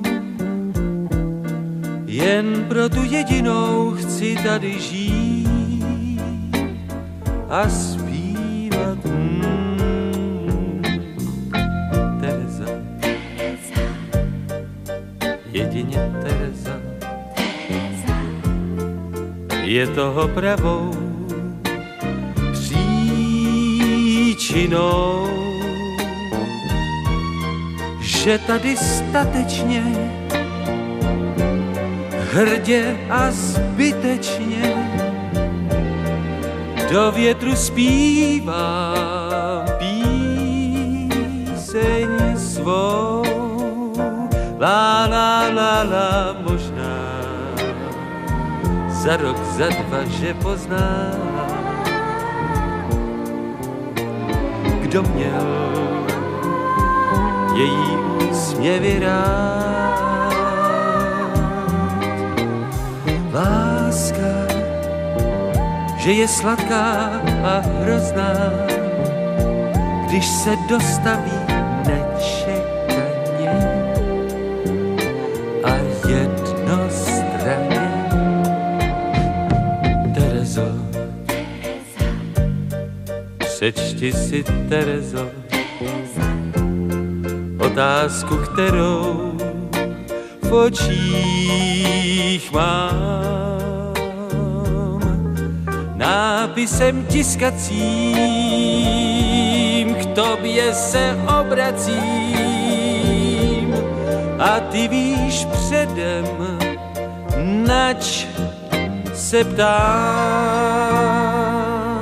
jen pro tu jedinou chci tady žít a zpívat. Jedině Tereza je toho pravou příčinou, že tady statečně, hrdě a zbytečně do větru zpívá píseň svou. La la la la, možná za rok, za dva, že pozná, kdo měl její úsměvy rád. Láska, že je sladká a hrozná, když se dostaví nečekaně jednostranně. Terezo, přečti si, Terezo, otázku, kterou v očích mám. Nápisem tiskacím k tobě se obracím a ty víš předem, nač se ptám.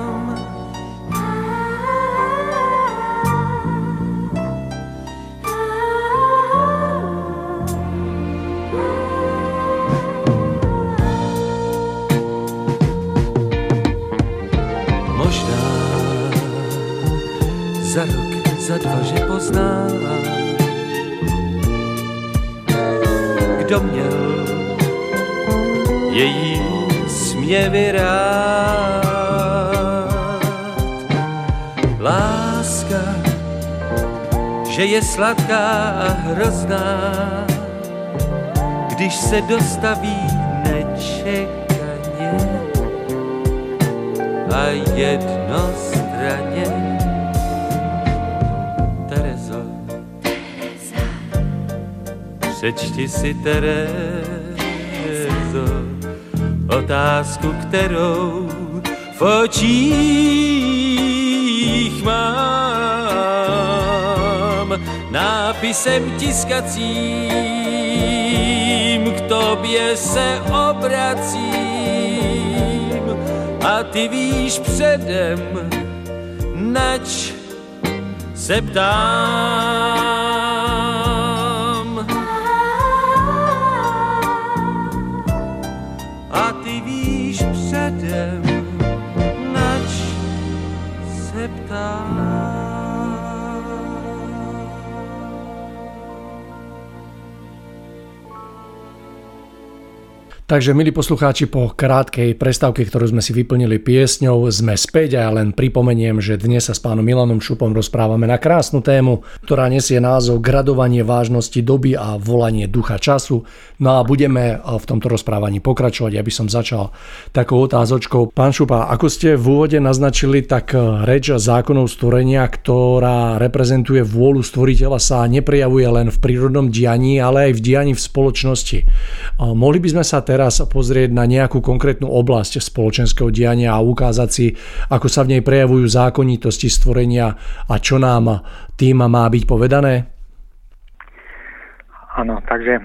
Možná za rok, za dva, že poznám, kdo měl její úsměvy rád. Láska, že je sladká a hrozná, když se dostaví nečekaně a jednostranně. Terezo, přečti si, Terezo, otázku, kterou v očích mám. Nápisem tiskacím k tobě se obracím a a ty víš předem, nač se ptám. A ty víš předem, nač se ptám. Takže, milí poslucháči, po krátkej prestávke, ktorú sme si vyplnili piesňou, sme späť a ja len pripomeniem, že dnes sa s pánom Milanom Šupom rozprávame na krásnu tému, ktorá nesie názov Gradovanie vážnosti doby a volanie ducha času. No a budeme v tomto rozprávaní pokračovať. Ja by som začal takou otázočkou. Pán Šupa, ako ste v úvode naznačili, tak reč zákonov stvorenia, ktorá reprezentuje vôľu stvoriteľa, sa neprejavuje len v prírodnom dianí, ale aj v dianí v spoločnosti. Mohli by sme sa teraz pozrieť na nejakú konkrétnu oblasť spoločenského diania a ukázať si, ako sa v nej prejavujú zákonitosti stvorenia a čo nám tým má byť povedané? Áno, takže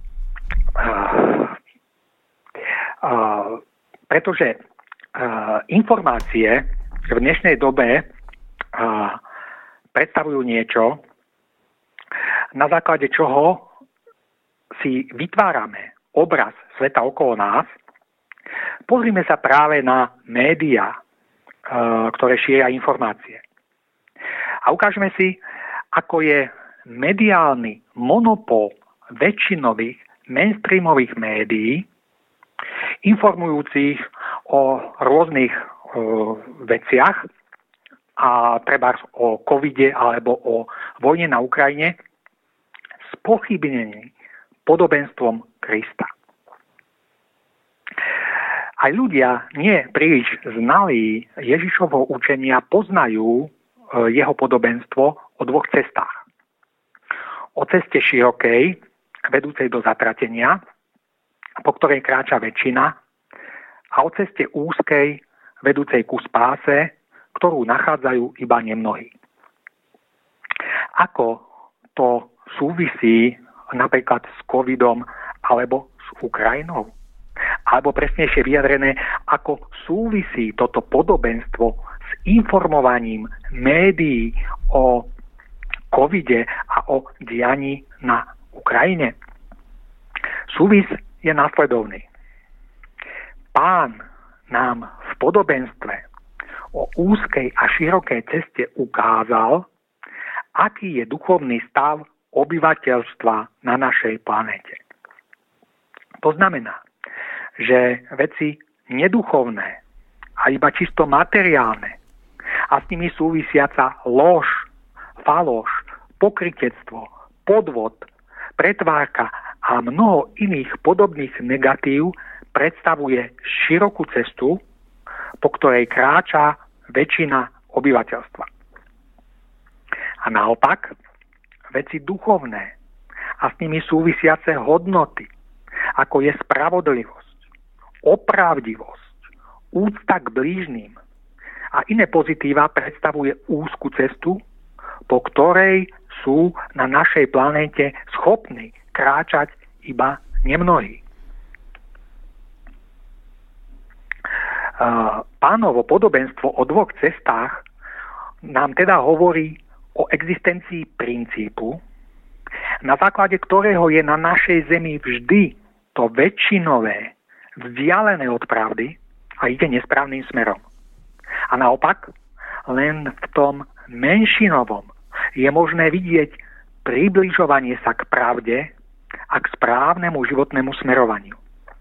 pretože informácie v dnešnej dobe predstavujú niečo, na základe čoho si vytvárame obraz sveta okolo nás. Pozrime sa práve na médiá, ktoré šíria informácie. A ukážeme si, ako je mediálny monopol väčšinových mainstreamových médií, informujúcich o rôznych veciach, a trebárs o covide alebo o vojne na Ukrajine, spochybnený podobenstvom Krista. Aj ľudia nie príliš znalí Ježišovho učenia poznajú jeho podobenstvo o dvoch cestách. O ceste širokej, vedúcej do zatratenia, po ktorej kráča väčšina, a o ceste úzkej, vedúcej ku spáse, ktorú nachádzajú iba nemnohí. Ako to súvisí napríklad s covidom alebo s Ukrajinou? Alebo presnejšie vyjadrené, ako súvisí toto podobenstvo s informovaním médií o covide a o dianí na Ukrajine? Súvis je následovný. Pán nám v podobenstve o úzkej a širokej ceste ukázal, aký je duchovný stav obyvateľstva na našej planéte. To znamená, že veci neduchovné a iba čisto materiálne a s nimi súvisiaca lož, faloš, pokrytectvo, podvod, pretvárka a mnoho iných podobných negatív predstavuje širokú cestu, po ktorej kráča väčšina obyvateľstva. A naopak, veci duchovné a s nimi súvisiace hodnoty, ako je spravodlivosť, opravdivosť, úcta k blížnym a iné pozitíva predstavuje úzku cestu, po ktorej sú na našej planéte schopní kráčať iba nemnohí. Pánovo podobenstvo o dvoch cestách nám teda hovorí o existencii princípu, na základe ktorého je na našej zemi vždy to väčšinové vzdialené od pravdy a ide nesprávnym smerom. A naopak, len v tom menšinovom je možné vidieť približovanie sa k pravde a k správnemu životnému smerovaniu.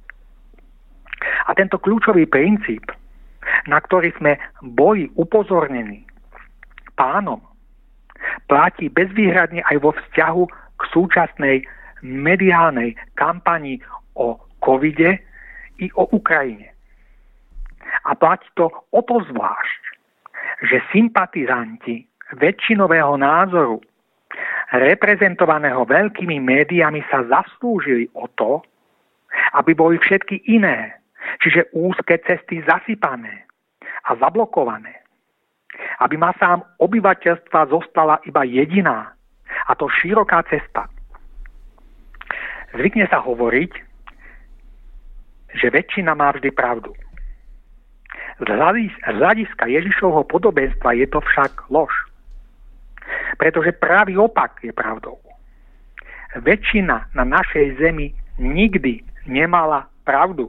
A tento kľúčový princíp, na ktorý sme boli upozornení Pánom, platí bezvýhradne aj vo vzťahu k súčasnej mediálnej kampani o covide i o Ukrajine. A platí to o to zvlášť, že sympatizanti väčšinového názoru, reprezentovaného veľkými médiami, sa zaslúžili o to, aby boli všetky iné, čiže úzke cesty zasypané a zablokované. Aby masám obyvateľstva zostala iba jediná, a to široká cesta. Zvykne sa hovoriť, že väčšina má vždy pravdu. Z hľadiska Ježišovho podobenstva je to však lož. Pretože pravý opak je pravdou. Väčšina na našej zemi nikdy nemala pravdu.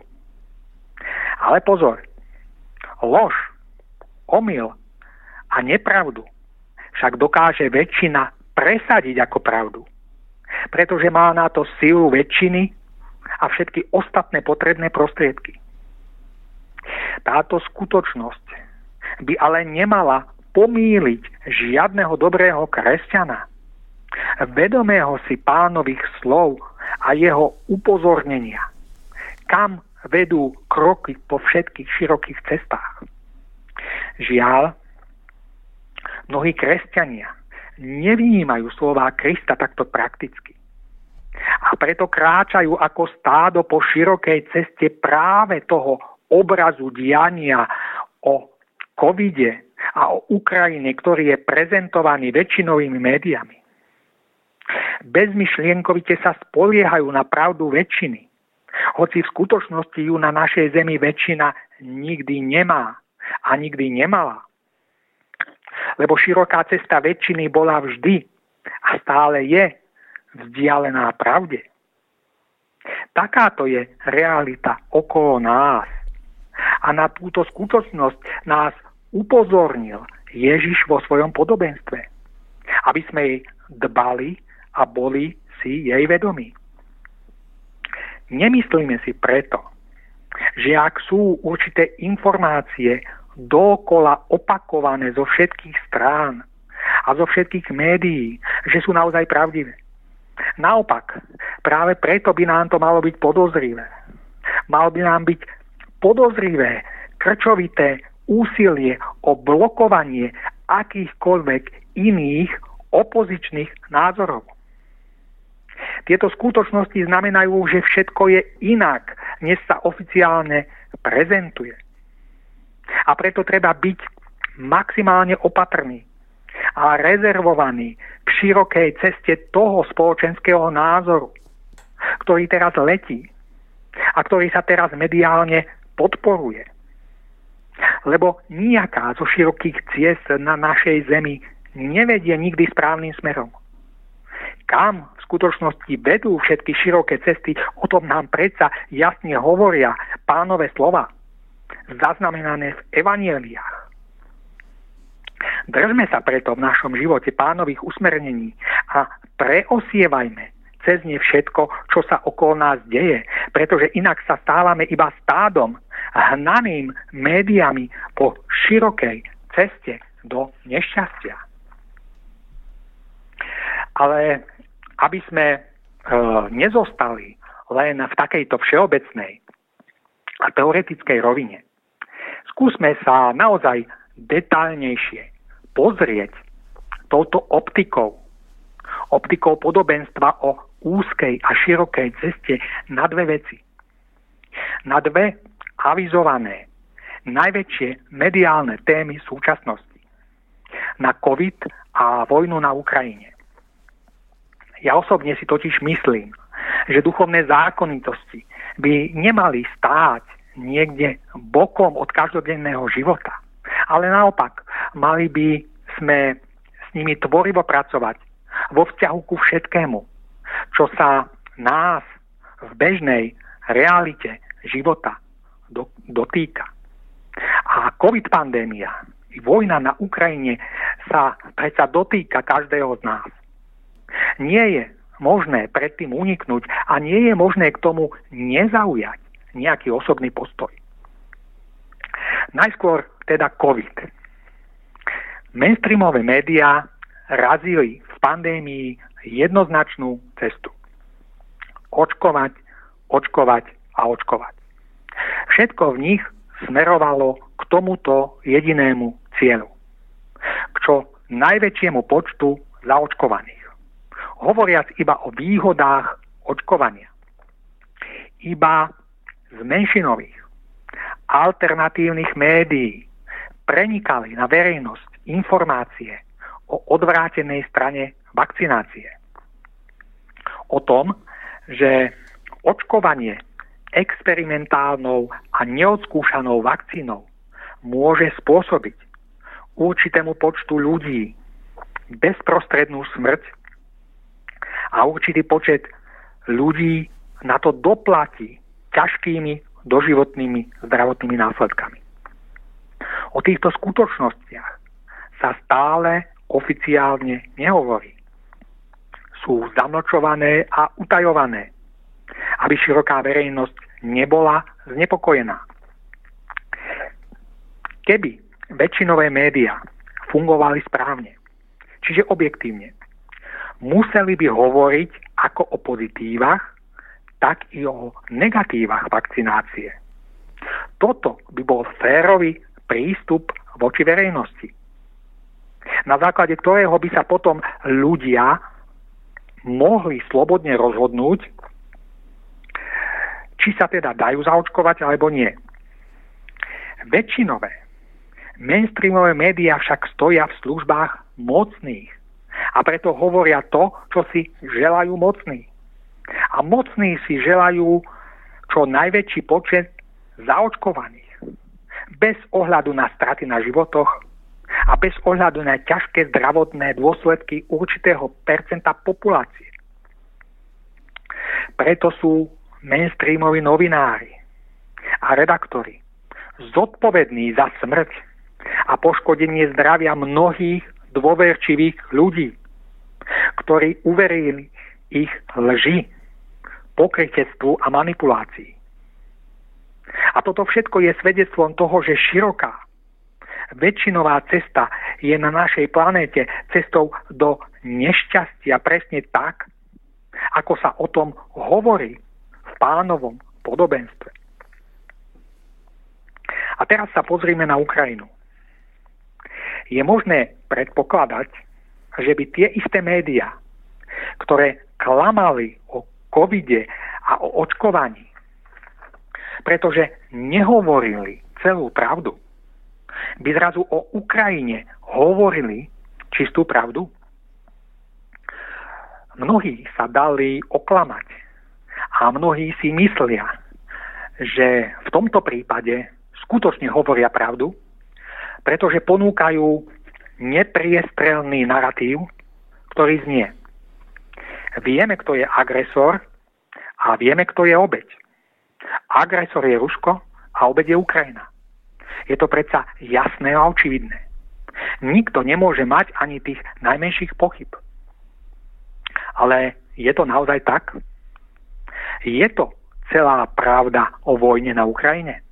Ale pozor, lož, omyl a nepravdu však dokáže väčšina presadiť ako pravdu. Pretože má na to silu väčšiny a všetky ostatné potrebné prostriedky. Táto skutočnosť by ale nemala pomýliť žiadneho dobrého kresťana, vedomého si Pánových slov a jeho upozornenia, kam vedú kroky po všetkých širokých cestách. Žiaľ, mnohí kresťania nevnímajú slová Krista takto prakticky. A preto kráčajú ako stádo po širokej ceste práve toho obrazu diania o covide a o Ukrajine, ktorý je prezentovaný väčšinovými médiami. Bezmyšlienkovite sa spoliehajú na pravdu väčšiny, hoci v skutočnosti ju na našej zemi väčšina nikdy nemá a nikdy nemala. Lebo široká cesta väčšiny bola vždy a stále je vzdialená pravde. Takáto je realita okolo nás. A na túto skutočnosť nás upozornil Ježiš vo svojom podobenstve, aby sme jej dbali a boli si jej vedomí. Nemyslíme si preto, že ak sú určité informácie dookola opakované zo všetkých strán a zo všetkých médií, že sú naozaj pravdivé. Naopak, práve preto by nám to malo byť podozrivé. Malo by nám byť podozrivé, krčovité úsilie o blokovanie akýchkoľvek iných opozičných názorov. Tieto skutočnosti znamenajú, že všetko je inak, než sa oficiálne prezentuje. A preto treba byť maximálne opatrný a rezervovaný k širokej ceste toho spoločenského názoru, ktorý teraz letí a ktorý sa teraz mediálne podporuje. Lebo nijaká zo širokých ciest na našej zemi nevedie nikdy správnym smerom. Kam v skutočnosti vedú všetky široké cesty, o tom nám predsa jasne hovoria Pánove slova, zaznamenané v evanjeliách. Držme sa preto v našom živote Pánových usmernení a preosievajme cez ne všetko, čo sa okolo nás deje, pretože inak sa stávame iba stádom, hnaným médiami po širokej ceste do nešťastia. Ale aby sme nezostali len v takejto všeobecnej a teoretickej rovine, skúsme sa naozaj detailnejšie pozrieť touto optikou podobenstva o úzkej a širokej ceste na dve veci. Na dve avizované najväčšie mediálne témy súčasnosti. Na COVID a vojnu na Ukrajine. Ja osobne si totiž myslím, že duchovné zákonitosti by nemali stáť niekde bokom od každodenného života. Ale naopak, mali by sme s nimi tvorivo pracovať vo vzťahu ku všetkému, čo sa nás v bežnej realite života dotýka. A COVID pandémia i vojna na Ukrajine sa predsa dotýka každého z nás. Nie je možné predtým uniknúť a nie je možné k tomu nezaujať nejaký osobný postoj. Najskôr teda COVID. Mainstreamové médiá razili v pandémii jednoznačnú cestu. Očkovať, očkovať a očkovať. Všetko v nich smerovalo k tomuto jedinému cieľu. K čo najväčšiemu počtu zaočkovaných. Hovoriac iba o výhodách očkovania. Iba z menšinových alternatívnych médií prenikali na verejnosť informácie o odvrátenej strane vakcinácie. O tom, že očkovanie experimentálnou a neodskúšanou vakcínou môže spôsobiť určitému počtu ľudí bezprostrednú smrť a určitý počet ľudí na to doplatí ťažkými doživotnými zdravotnými následkami. O týchto skutočnostiach sa stále oficiálne nehovorí. Sú zamlčované a utajované, aby široká verejnosť nebola znepokojená. Keby väčšinové médiá fungovali správne, čiže objektívne, museli by hovoriť ako o pozitívach, tak i o negatívach vakcinácie. Toto by bol férový prístup voči verejnosti, na základe ktorého by sa potom ľudia mohli slobodne rozhodnúť, či sa teda dajú zaočkovať alebo nie. Väčšinové mainstreamové médiá však stoja v službách mocných a preto hovoria to, čo si želajú mocní. A mocní si želajú čo najväčší počet zaočkovaných, bez ohľadu na straty na životoch a bez ohľadu na ťažké zdravotné dôsledky určitého percenta populácie. Preto sú mainstreamoví novinári a redaktori zodpovední za smrť a poškodenie zdravia mnohých dôverčivých ľudí, ktorí uverili ich lži, pokrytectvu a manipulácii. A toto všetko je svedectvom toho, že široká väčšinová cesta je na našej planéte cestou do nešťastia presne tak, ako sa o tom hovorí v Pánovom podobenstve. A teraz sa pozrime na Ukrajinu. Je možné predpokladať, že by tie isté médiá, ktoré klamali o covide a o očkovaní, pretože nehovorili celú pravdu, by zrazu o Ukrajine hovorili čistú pravdu? Mnohí sa dali oklamať a mnohí si myslia, že v tomto prípade skutočne hovoria pravdu, pretože ponúkajú nepriestrelný naratív, ktorý znie: vieme, kto je agresor a vieme, kto je obeť. Agresor je Rusko a obeť je Ukrajina. Je to predsa jasné a očividné. Nikto nemôže mať ani tých najmenších pochyb. Ale je to naozaj tak? Je to celá pravda o vojne na Ukrajine?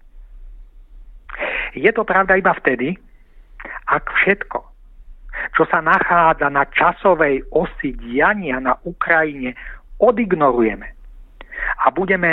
Je to pravda iba vtedy, ak všetko, čo sa nachádza na časovej osi diania na Ukrajine, odignorujeme a budeme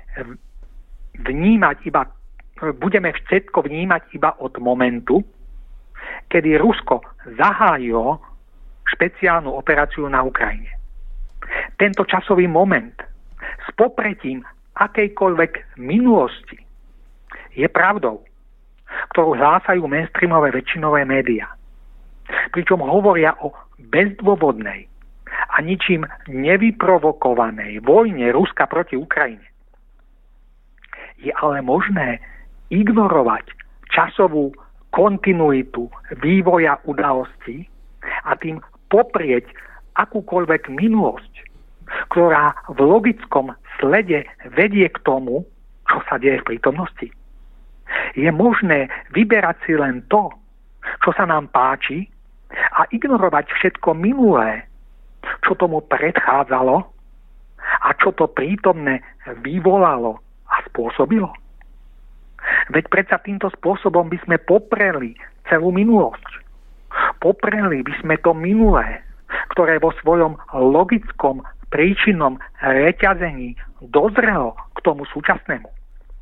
všetko vnímať iba od momentu, kedy Rusko zahájilo špeciálnu operáciu na Ukrajine. Tento časový moment s popretím akejkoľvek minulosti je pravdou, ktorú hlásajú mainstreamové väčšinové médiá. Pričom hovoria o bezdôvodnej a ničím nevyprovokovanej vojne Ruska proti Ukrajine. Je ale možné ignorovať časovú kontinuitu vývoja udalostí a tým poprieť akúkoľvek minulosť, ktorá v logickom slede vedie k tomu, čo sa deje v prítomnosti. Je možné vyberať si len to, čo sa nám páči, a ignorovať všetko minulé, čo tomu predchádzalo a čo to prítomné vyvolalo a spôsobilo. Veď predsa týmto spôsobom by sme popreli celú minulosť. Popreli by sme to minulé, ktoré vo svojom logickom príčinnom reťazení dozrelo k tomu súčasnému.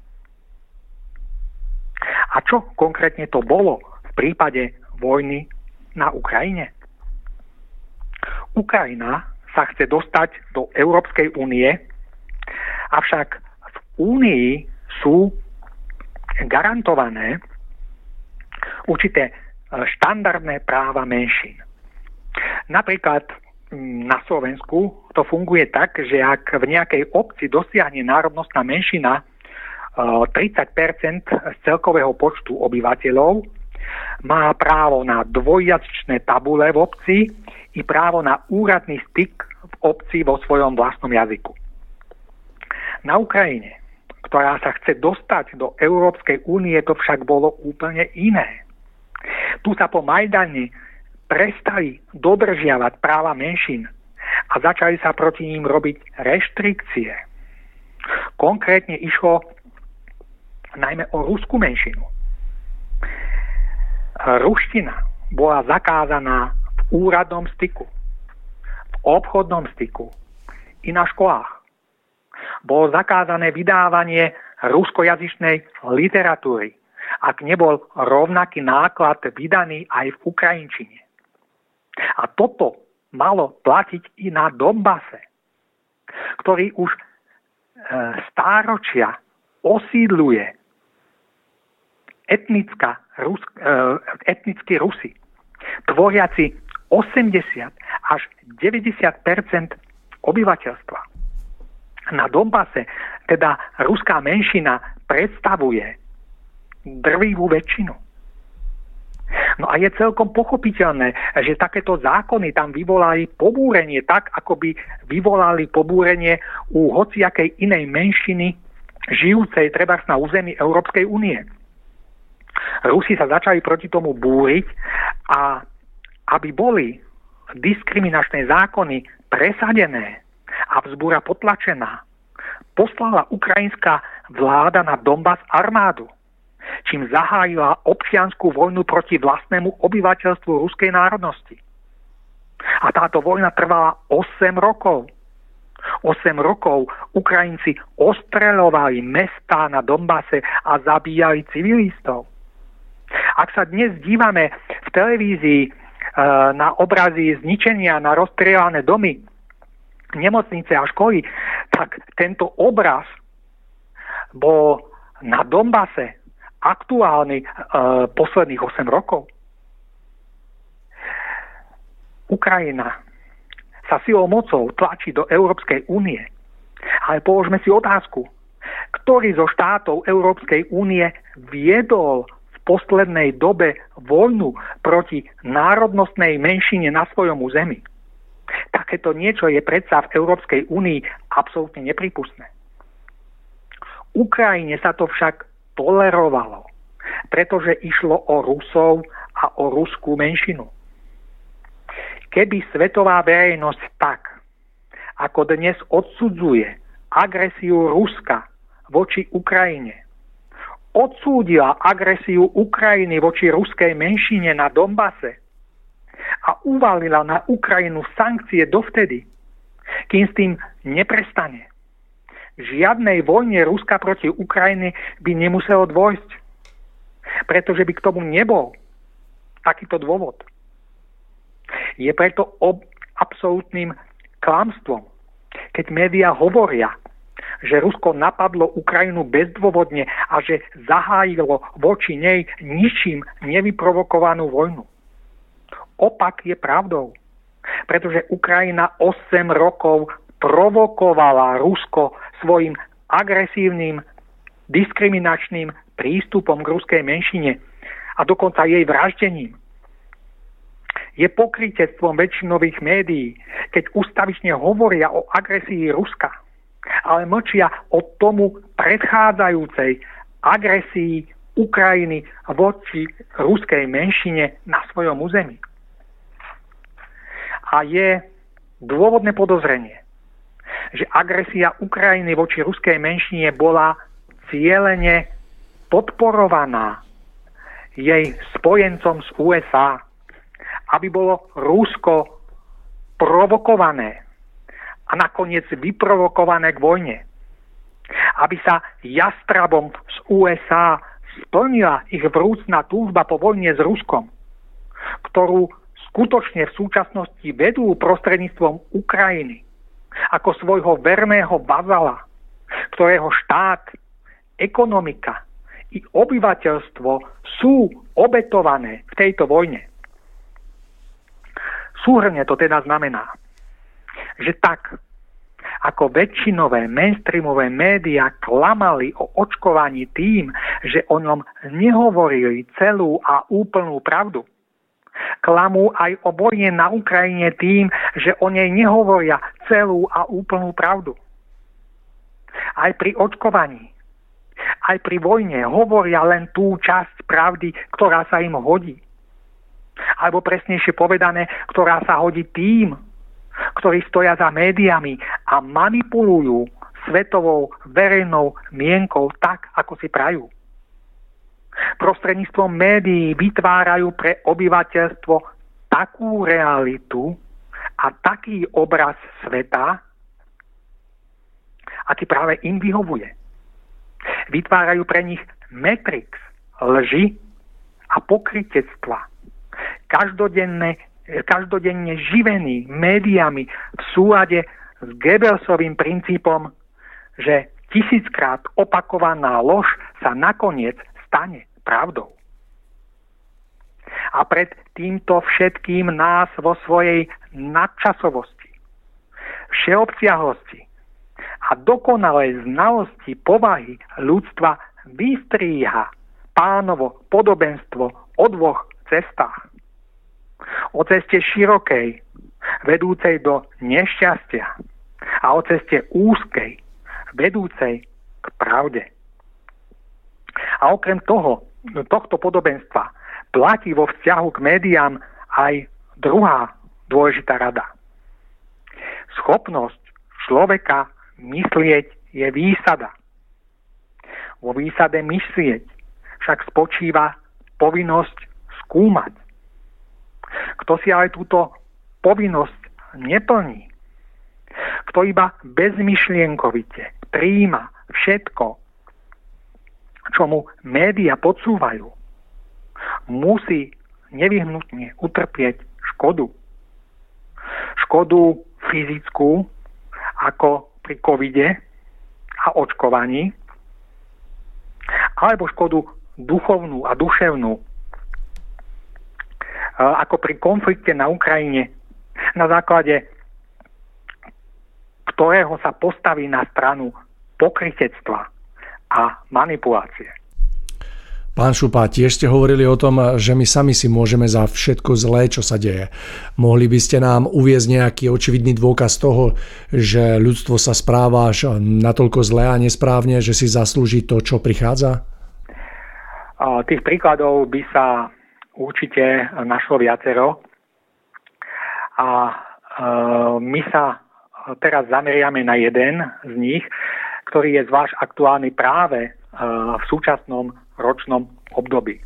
A čo konkrétne to bolo v prípade vojny na Ukrajine? Ukrajina sa chce dostať do Európskej únie, avšak v únii sú garantované určité štandardné práva menšín. Napríklad na Slovensku to funguje tak, že ak v nejakej obci dosiahne národnostná menšina 30% z celkového počtu obyvateľov má právo na dvojjazyčné tabule v obci i právo na úradný styk v obci vo svojom vlastnom jazyku. Na Ukrajine, ktorá sa chce dostať do Európskej únie, to však bolo úplne iné. Tu sa po Majdane prestali dodržiavať práva menšín a začali sa proti ním robiť reštrikcie. Konkrétne išlo najmä o ruskú menšinu. Ruština bola zakázaná v úradnom styku, v obchodnom styku i na školách. Bolo zakázané vydávanie ruskojazyčnej literatúry, ak nebol rovnaký náklad vydaný aj v ukrajinčine. A toto malo platiť i na Donbase, ktorý už stáročia osídluje etnickí Rusi, tvoriaci 80 až 90% obyvateľstva. Na Donbase teda ruská menšina predstavuje drvivú väčšinu. No a je celkom pochopiteľné, že takéto zákony tam vyvolali pobúrenie tak, ako by vyvolali pobúrenie u hociakej inej menšiny žijúcej trebárs na území Európskej únie. Rusi sa začali proti tomu búriť a aby boli diskriminačné zákony presadené a vzbúra potlačená, poslala ukrajinská vláda na Donbas armádu, čím zahájila občiansku vojnu proti vlastnému obyvateľstvu ruskej národnosti. A táto vojna trvala 8 rokov. 8 rokov Ukrajinci ostreľovali mestá na Donbase a zabíjali civilistov. Ak sa dnes dívame v televízii na obrazy zničenia, na rozstrieľané domy, nemocnice a školy, tak tento obraz bol na Donbase aktuálny posledných 8 rokov. Ukrajina sa silou mocou tlačí do Európskej únie. Ale položme si otázku, ktorý zo štátov Európskej únie viedol v poslednej dobe vojnu proti národnostnej menšine na svojom území. Takéto niečo je predsa v Európskej únii absolútne neprípustné. Ukrajine sa to však tolerovalo, pretože išlo o Rusov a o ruskú menšinu. Keby svetová verejnosť tak, ako dnes odsudzuje agresiu Ruska voči Ukrajine, odsúdila agresiu Ukrajiny voči ruskej menšine na Donbase a uvalila na Ukrajinu sankcie dovtedy, kým s tým neprestane. Žiadnej vojne Ruska proti Ukrajine by nemuselo dôjsť, pretože by k tomu nebol takýto dôvod. Je preto absolútnym klamstvom, keď médiá hovoria, že Rusko napadlo Ukrajinu bezdôvodne a že zahájilo voči nej ničím nevyprovokovanú vojnu. Opak je pravdou, pretože Ukrajina 8 rokov provokovala Rusko svojim agresívnym, diskriminačným prístupom k ruskej menšine a dokonca jej vraždením. Je pokrytectvom väčšinových médií, keď ústavične hovoria o agresii Ruska, ale mlčia o tomu predchádzajúcej agresii Ukrajiny voči ruskej menšine na svojom území. A je dôvodné podozrenie, že agresia Ukrajiny voči ruskej menšine bola cielene podporovaná jej spojencom z USA, aby bolo Rusko provokované a nakoniec vyprovokované k vojne. Aby sa jastrabom z USA splnila ich vrúcna túžba po vojne s Ruskom, ktorú skutočne v súčasnosti vedú prostredníctvom Ukrajiny ako svojho verného vazala, ktorého štát, ekonomika i obyvateľstvo sú obetované v tejto vojne. Súhrne to teda znamená, že tak, ako väčšinové mainstreamové médiá klamali o očkovaní tým, že o ňom nehovorili celú a úplnú pravdu. Klamú aj o vojne na Ukrajine tým, že o nej nehovoria celú a úplnú pravdu. Aj pri očkovaní, aj pri vojne hovoria len tú časť pravdy, ktorá sa im hodí. Alebo presnejšie povedané, ktorá sa hodí tým, ktorí stoja za médiami a manipulujú svetovou verejnou mienkou tak, ako si prajú. Prostredníctvom médií vytvárajú pre obyvateľstvo takú realitu a taký obraz sveta, aký práve im vyhovuje. Vytvárajú pre nich matrix lži a pokrytectva. Každodenne živený médiami v súlade s Goebbelsovým princípom, že 1000-krát opakovaná lož sa nakoniec stane pravdou. A pred týmto všetkým nás vo svojej nadčasovosti, všeobsiahlosti a dokonalej znalosti povahy ľudstva vystríha Pánovo podobenstvo o dvoch cestách. O ceste širokej, vedúcej do nešťastia a o ceste úzkej, vedúcej k pravde. A okrem tohto podobenstva platí vo vzťahu k médiám aj druhá dôležitá rada. Schopnosť človeka myslieť je výsada. Vo výsade myslieť však spočíva povinnosť skúmať. Kto si ale túto povinnosť neplní, kto iba bezmyšlienkovite prijíma všetko, čo mu média podsúvajú, musí nevyhnutne utrpieť škodu. Škodu fyzickú, ako pri covide a očkovaní, alebo škodu duchovnú a duševnú, ako pri konflikte na Ukrajine, na základe ktorého sa postaví na stranu pokrytectva a manipulácie. Pán Šupa, tiež ste hovorili o tom, že my sami si môžeme za všetko zlé, čo sa deje. Mohli by ste nám uviesť nejaký očividný dôkaz toho, že ľudstvo sa správa až natoľko zlé a nesprávne, že si zaslúži to, čo prichádza? Tých príkladov by sa určite našlo viacero. A my sa teraz zameriame na jeden z nich, ktorý je zvlášť aktuálny práve v súčasnom ročnom období.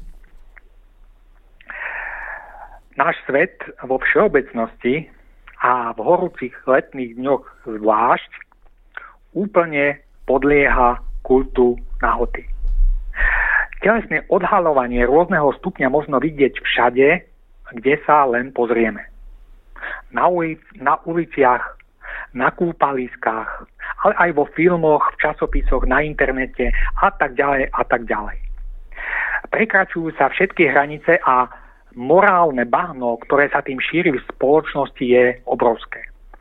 Náš svet vo všeobecnosti a v horúcich letných dňoch zvlášť úplne podlieha kultu nahoty. Telesné odhaľovanie rôzneho stupňa možno vidieť všade, kde sa len pozrieme. Na uliciach, na kúpaliskách, ale aj vo filmoch, v časopisoch, na internete a tak ďalej a tak ďalej. Prekračujú sa všetky hranice a morálne bahno, ktoré sa tým šíri v spoločnosti, je obrovské.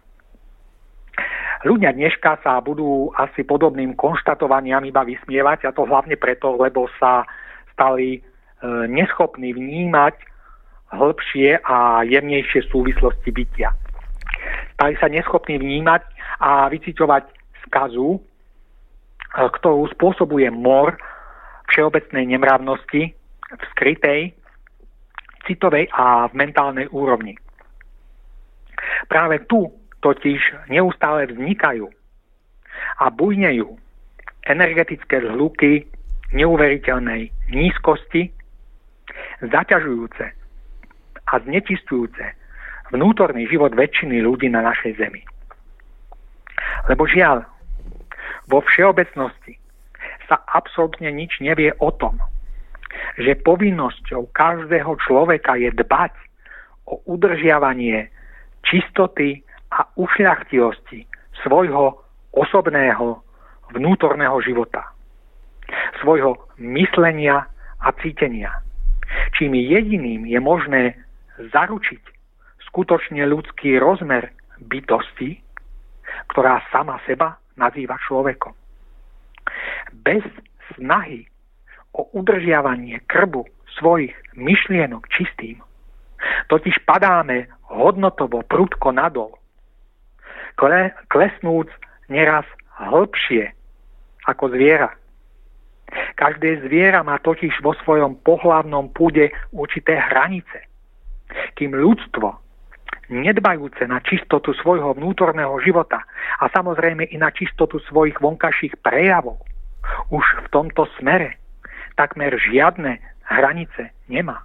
Ľudia dneška sa budú asi podobným konštatovaniam iba vysmievať, a to hlavne preto, lebo sa stali neschopní vnímať hĺbšie a jemnejšie súvislosti bytia. Stali sa neschopní vnímať a vyciťovať skazu, ktorú spôsobuje mor všeobecnej nemravnosti v skrytej, citovej a v mentálnej úrovni. Práve tu totiž neustále vznikajú a bujnejú energetické zhluky neuveriteľnej nízkosti, zaťažujúce a znečisťujúce vnútorný život väčšiny ľudí na našej zemi. Lebo žiaľ, vo všeobecnosti sa absolútne nič nevie o tom, že povinnosťou každého človeka je dbať o udržiavanie čistoty a ušľachtilosti svojho osobného vnútorného života, svojho myslenia a cítenia, čím jediným je možné zaručiť skutočne ľudský rozmer bytosti ktorá sama seba nazýva človekom. Bez snahy o udržiavanie krbu svojich myšlienok čistým totiž padáme hodnotovo prudko nadol, klesnúc neraz hlbšie ako zviera. Každé zviera má totiž vo svojom pohlavnom púde určité hranice, kým ľudstvo, nedbajúce na čistotu svojho vnútorného života a samozrejme i na čistotu svojich vonkajších prejavov, už v tomto smere takmer žiadne hranice nemá.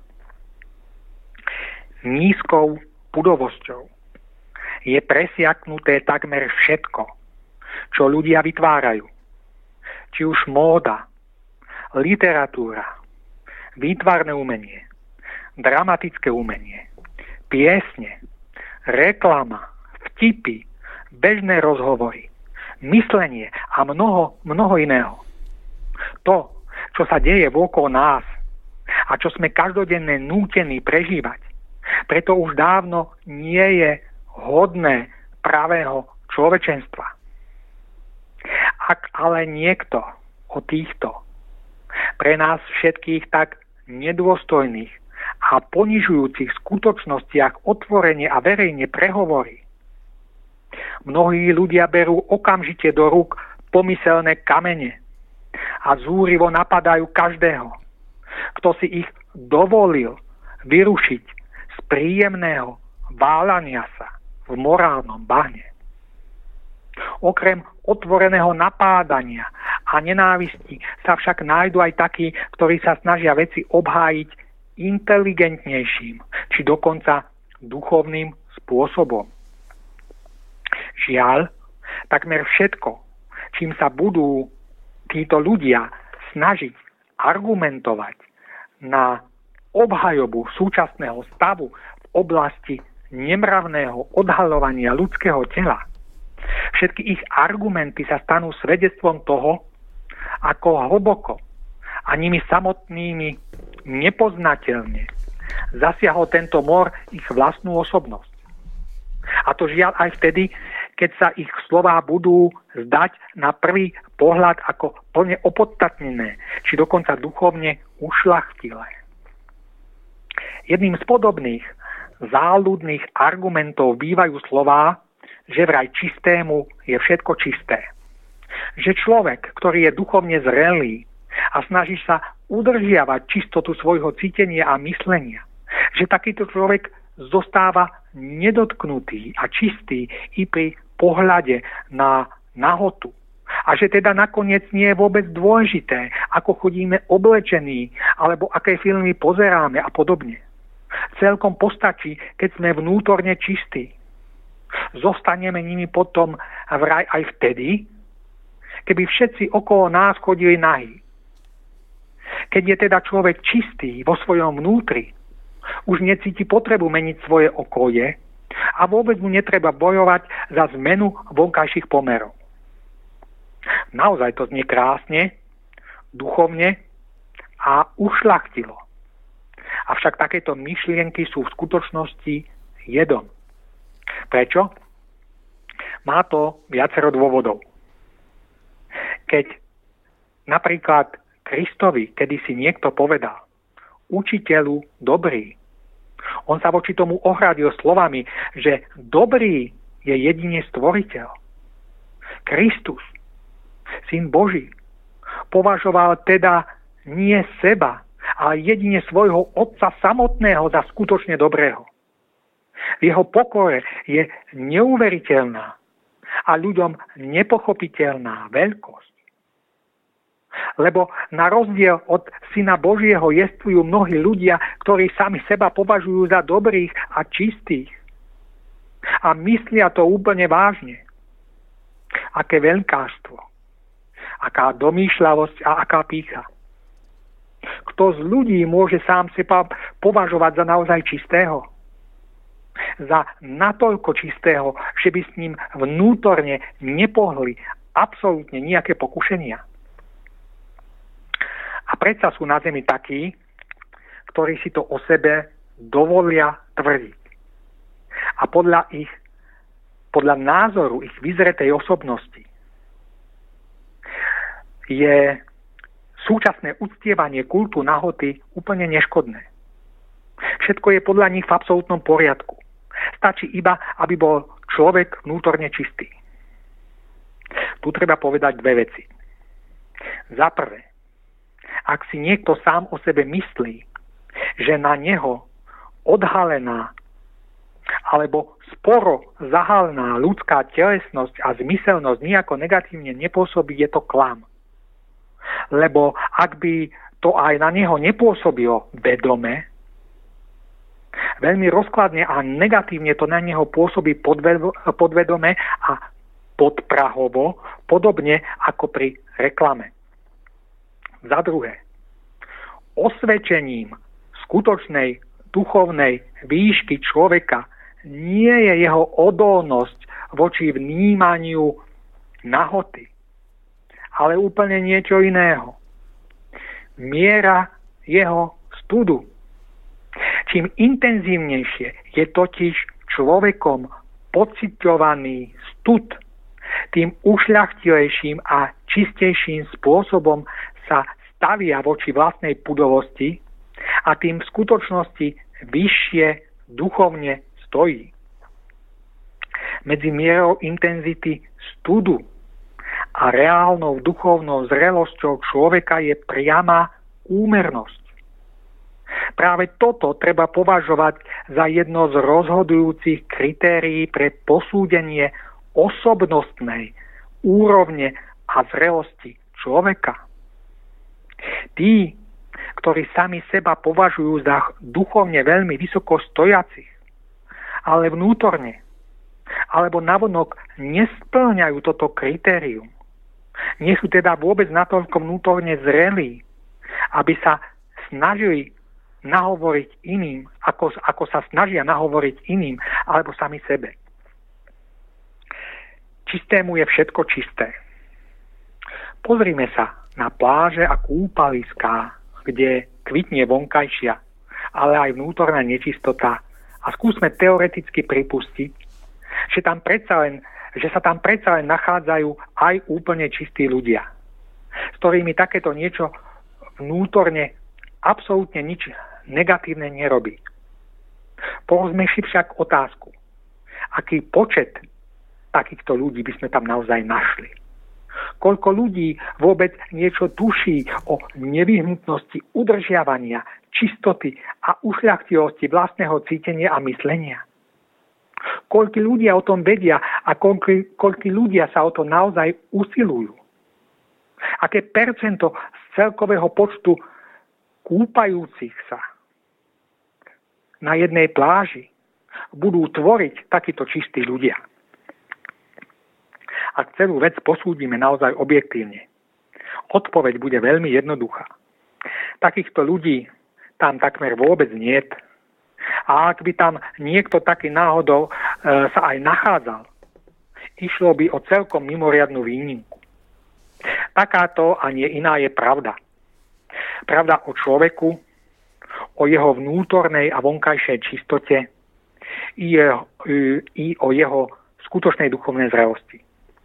Nízkou pudovosťou je presiaknuté takmer všetko, čo ľudia vytvárajú. Či už móda, literatúra, výtvarné umenie, dramatické umenie, piesne, reklama, vtipy, bežné rozhovory, myslenie a mnoho iného. To, čo sa deje okolo nás a čo sme každodenne nútení prežívať, preto už dávno nie je hodné pravého človečenstva. Ak ale niekto o týchto pre nás všetkých tak nedôstojných a ponižujúcich skutočnostiach otvorene a verejne prehovorí, mnohí ľudia berú okamžite do rúk pomyselné kamene a zúrivo napadajú každého, kto si ich dovolil vyrušiť z príjemného váľania sa v morálnom bahne. Okrem otvoreného napádania a nenávisti sa však nájdu aj takí, ktorí sa snažia veci obhájiť inteligentnejším, či dokonca duchovným spôsobom. Žiaľ, takmer všetko, čím sa budú títo ľudia snažiť argumentovať na obhajobu súčasného stavu v oblasti nemravného odhaľovania ľudského tela, všetky ich argumenty sa stanú svedectvom toho, ako hlboko a nimi samotnými nepoznateľne zasiahol tento mor ich vlastnú osobnosť. A to žiaľ aj vtedy, keď sa ich slová budú zdať na prvý pohľad ako plne opodstatnené, či dokonca duchovne ušľachtilé. Jedným z podobných záľudných argumentov bývajú slová, že vraj čistému je všetko čisté. Že človek, ktorý je duchovne zrelý a snaží sa udržiavať čistotu svojho cítenia a myslenia, že takýto človek zostáva nedotknutý a čistý i pri pohľade na nahotu. A že teda nakoniec nie je vôbec dôležité, ako chodíme oblečení, alebo aké filmy pozeráme a podobne. Celkom postačí, keď sme vnútorne čistí. Zostaneme nimi potom vraj aj vtedy, keby všetci okolo nás chodili nahí. Keď je teda človek čistý vo svojom vnútri, už necíti potrebu meniť svoje okolie a vôbec mu netreba bojovať za zmenu vonkajších pomerov. Naozaj to znie krásne, duchovne a ušľachtilo. Avšak takéto myšlienky sú v skutočnosti jedom. Prečo? Má to viacero dôvodov. Keď napríklad Kristovi kedysi niekto povedal: učiteľu dobrý, on sa voči tomu ohradil slovami, že dobrý je jedine stvoriteľ. Kristus, syn Boží, považoval teda nie seba, ale jedine svojho Otca samotného za skutočne dobrého. V jeho pokore je neuveriteľná a ľuďom nepochopiteľná veľkosť. Lebo na rozdiel od Syna Božieho jestvujú mnohí ľudia, ktorí sami seba považujú za dobrých a čistých. A myslia to úplne vážne. Aké veľkástvo, aká domýšľavosť a aká pýcha. Kto z ľudí môže sám seba považovať za naozaj čistého? Za natoľko čistého, že by s ním vnútorne nepohli absolútne nejaké pokušenia. A predsa sú na zemi takí, ktorí si to o sebe dovolia tvrdiť. A podľa ich podľa názoru ich vyzretej osobnosti je súčasné uctievanie kultu nahoty úplne neškodné. Všetko je podľa nich v absolútnom poriadku. Stačí iba, aby bol človek vnútorne čistý. Tu treba povedať dve veci. Za prvé, ak si niekto sám o sebe myslí, že na neho odhalená alebo sporo zahalená ľudská telesnosť a zmyselnosť nejako negatívne nepôsobí, je to klam. Lebo ak by to aj na neho nepôsobilo vedome, veľmi rozkladne a negatívne to na neho pôsobí podvedome a podprahovo, podobne ako pri reklame. Za druhé, osvedčením skutočnej duchovnej výšky človeka nie je jeho odolnosť voči vnímaniu nahoty, ale úplne niečo iného. Miera jeho studu. Čím intenzívnejšie je totiž človekom pociťovaný stud, tým ušľachtilejším a čistejším spôsobom sa stavia voči vlastnej pudovosti a tým v skutočnosti vyššie duchovne stojí. Medzi mierou intenzity studu a reálnou duchovnou zrelosťou človeka je priama úmernosť. Práve toto treba považovať za jedno z rozhodujúcich kritérií pre posúdenie osobnostnej úrovne a zrelosti človeka. Tí, ktorí sami seba považujú za duchovne veľmi vysoko stojacich, ale vnútorne alebo navonok nespĺňajú toto kritérium, nie sú teda vôbec natoľko vnútorne zrelí, aby sa snažili nahovoriť iným, ako sa snažia nahovoriť iným alebo sami sebe. Čistému je všetko čisté. Pozrime sa na pláže a kúpaliská, kde kvitne vonkajšia, ale aj vnútorná nečistota a skúsme teoreticky pripustiť, že sa tam predsa len nachádzajú aj úplne čistí ľudia, s ktorými takéto niečo vnútorne absolútne nič negatívne nerobí. Povedzme si však otázku, aký počet takýchto ľudí by sme tam naozaj našli. Koľko ľudí vôbec niečo tuší o nevyhnutnosti udržiavania, čistoty a ušľachtilosti vlastného cítenia a myslenia. Koľko ľudia o tom vedia a koľko ľudia sa o to naozaj usilujú. Aké percento z celkového počtu kúpajúcich sa na jednej pláži budú tvoriť takíto čistí ľudia. Ak celú vec posúdime naozaj objektívne, odpoveď bude veľmi jednoduchá. Takýchto ľudí tam takmer vôbec niet. A ak by tam niekto taký náhodou sa aj nachádzal, išlo by o celkom mimoriadnu výnimku. Takáto a nie iná je pravda. Pravda o človeku, o jeho vnútornej a vonkajšej čistote i o jeho skutočnej duchovnej zrelosti.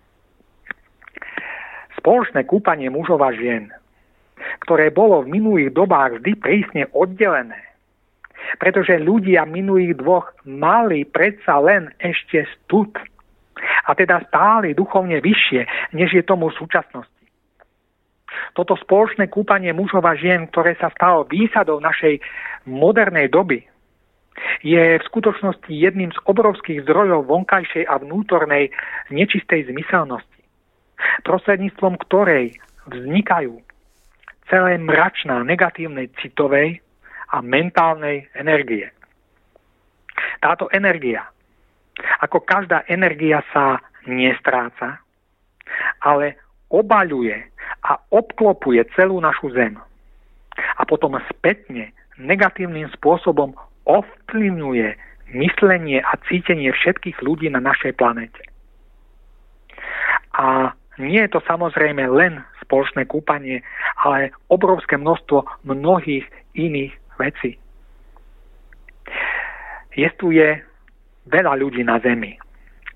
Spoločné kúpanie mužov a žien, ktoré bolo v minulých dobách vždy prísne oddelené, pretože ľudia minulých dvoch mali predsa len ešte stud a teda stáli duchovne vyššie, než je tomu v súčasnosti. Toto spoločné kúpanie mužov a žien, ktoré sa stalo výsadou našej modernej doby, je v skutočnosti jedným z obrovských zdrojov vonkajšej a vnútornej nečistej zmyselnosti, prostredníctvom ktorej vznikajú celé mračná negatívnej citovej a mentálnej energie. Táto energia, ako každá energia, sa nestráca, ale obaľuje a obklopuje celú našu zem. A potom spätne negatívnym spôsobom ovplyvňuje myslenie a cítenie všetkých ľudí na našej planete. A nie je to samozrejme len spoločné kúpanie, ale obrovské množstvo mnohých iných vecí. Jestuje veľa ľudí na Zemi,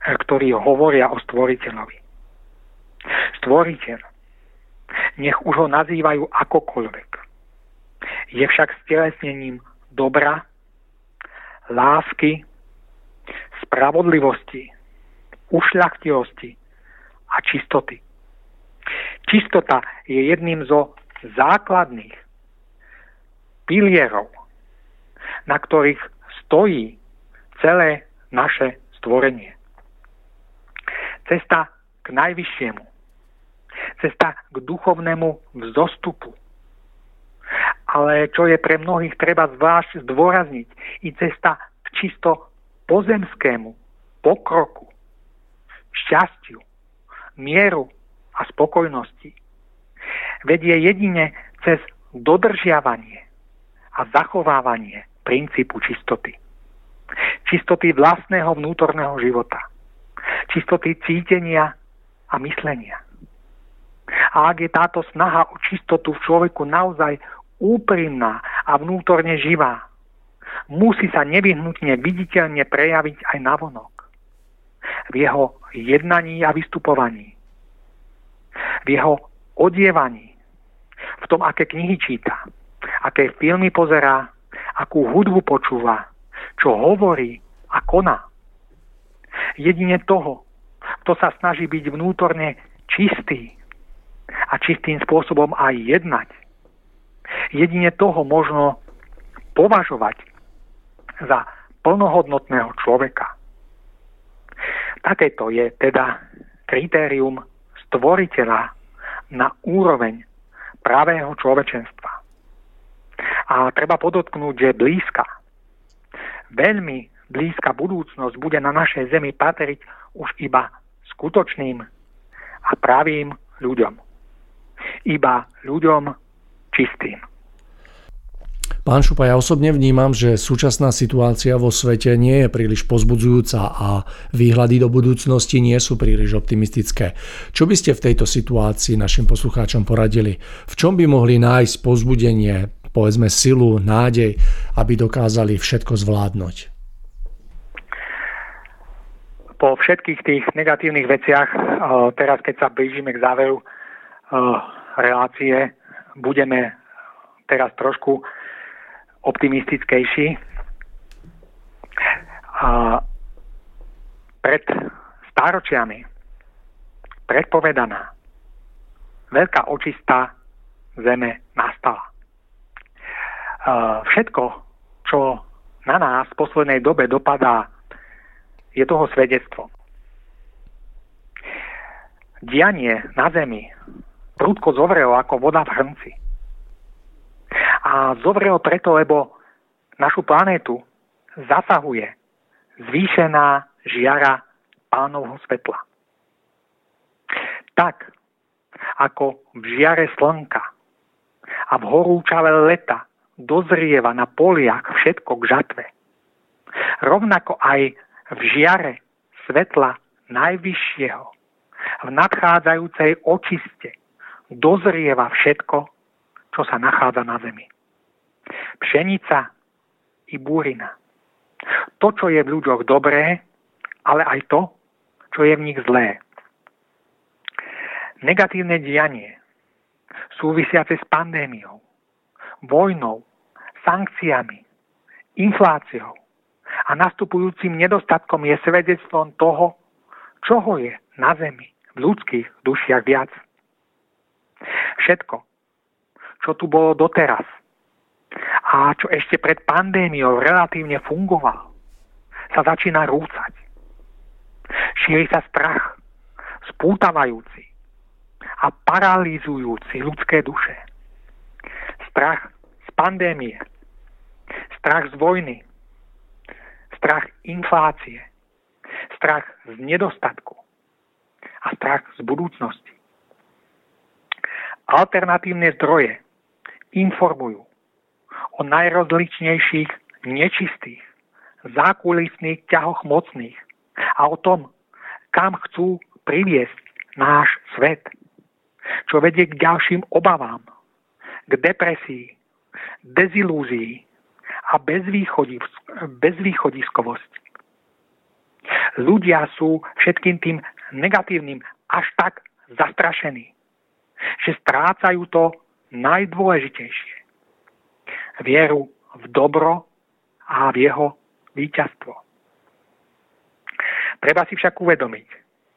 ktorí hovoria o Stvoriteľovi. Stvoriteľ, nech už ho nazývajú akokoľvek, je však stelesnením dobra, lásky, spravodlivosti, ušľachtilosti a čistoty. Čistota je jedným zo základných pilierov, na ktorých stojí celé naše stvorenie. Cesta k najvyššiemu, cesta k duchovnému vzostupu. Ale čo je pre mnohých treba zvlášť zdôrazniť, i cesta k čisto pozemskému pokroku, šťastiu, mieru a spokojnosti vedie jedine cez dodržiavanie a zachovávanie princípu čistoty. Čistoty vlastného vnútorného života. Čistoty cítenia a myslenia. A ak je táto snaha o čistotu v človeku naozaj úprimná a vnútorne živá, musí sa nevyhnutne viditeľne prejaviť aj navonok. V jeho jednaní a vystupovaní. V jeho odievaní. V tom, aké knihy číta, aké filmy pozerá, akú hudbu počúva, čo hovorí a koná. Jedine toho, kto sa snaží byť vnútorne čistý a čistým spôsobom aj jednať. Jedine toho možno považovať za plnohodnotného človeka. Takéto je teda kritérium stvoriteľa na úroveň pravého človečenstva. A treba podotknúť, že veľmi blízka budúcnosť bude na našej zemi patriť už iba skutočným a pravým ľuďom. Iba ľuďom čistým. Pán Šupa, ja osobne vnímam, že súčasná situácia vo svete nie je príliš povzbudzujúca a výhľady do budúcnosti nie sú príliš optimistické. Čo by ste v tejto situácii našim poslucháčom poradili? V čom by mohli nájsť povzbudenie, povedzme silu, nádej, aby dokázali všetko zvládnuť? Po všetkých tých negatívnych veciach, teraz keď sa blížime k záveru relácie, budeme teraz trošku optimistickejší. Pred stáročiami predpovedaná veľká očista zeme nastala. Všetko, čo na nás v poslednej dobe dopadá, je toho svedectvo. Dianie na zemi prudko zovrelo ako voda v hrnci. A zovrelo preto, lebo našu planétu zasahuje zvýšená žiara Pánovho svetla. Tak, ako v žiare slnka a v horúčave leta dozrieva na poliach všetko k žatve, rovnako aj v žiare svetla najvyššieho, v nadchádzajúcej očiste dozrieva všetko, čo sa nachádza na zemi. Pšenica i búrina. To, čo je v ľuďoch dobré, ale aj to, čo je v nich zlé. Negatívne dianie, súvisiace s pandémiou, vojnou, sankciami, infláciou a nastupujúcim nedostatkom je svedectvom toho, čoho je na zemi v ľudských dušiach viac. Všetko, čo tu bolo doteraz a čo ešte pred pandémiou relatívne fungovalo, sa začína rúcať. Šíri sa strach, spútavajúci a paralizujúci ľudské duše. Strach z pandémie, strach z vojny, strach inflácie, strach z nedostatku a strach z budúcnosti. Alternatívne zdroje informujú o najrozličnejších nečistých, zákulisných ťahoch mocných a o tom, kam chcú priviesť náš svet, čo vedie k ďalším obavám, k depresii, dezilúzii a bezvýchodiskovosti. Ľudia sú všetkým tým negatívnym až tak zastrašení, že strácajú to najdôležitejšie. Vieru v dobro a v jeho víťazstvo. Treba si však uvedomiť,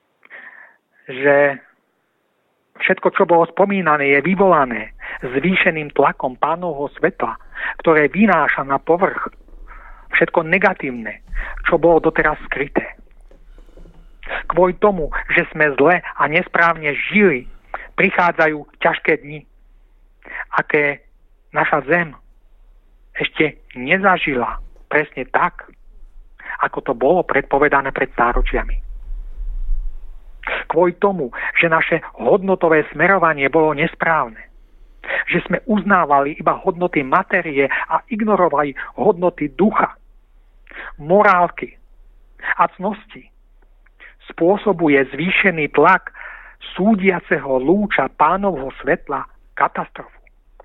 že všetko, čo bolo spomínané, je vyvolané zvýšeným tlakom Pánovho svetla, ktoré vynáša na povrch všetko negatívne, čo bolo doteraz skryté. Kvôli tomu, že sme zle a nesprávne žili, prichádzajú ťažké dni, aké naša zem ešte nezažila presne tak, ako to bolo predpovedané pred stáročiami. Kvôli tomu, že naše hodnotové smerovanie bolo nesprávne, že sme uznávali iba hodnoty materie a ignorovali hodnoty ducha, morálky a cnosti, spôsobuje zvýšený tlak súdiaceho lúča Pánovho svetla katastrofu.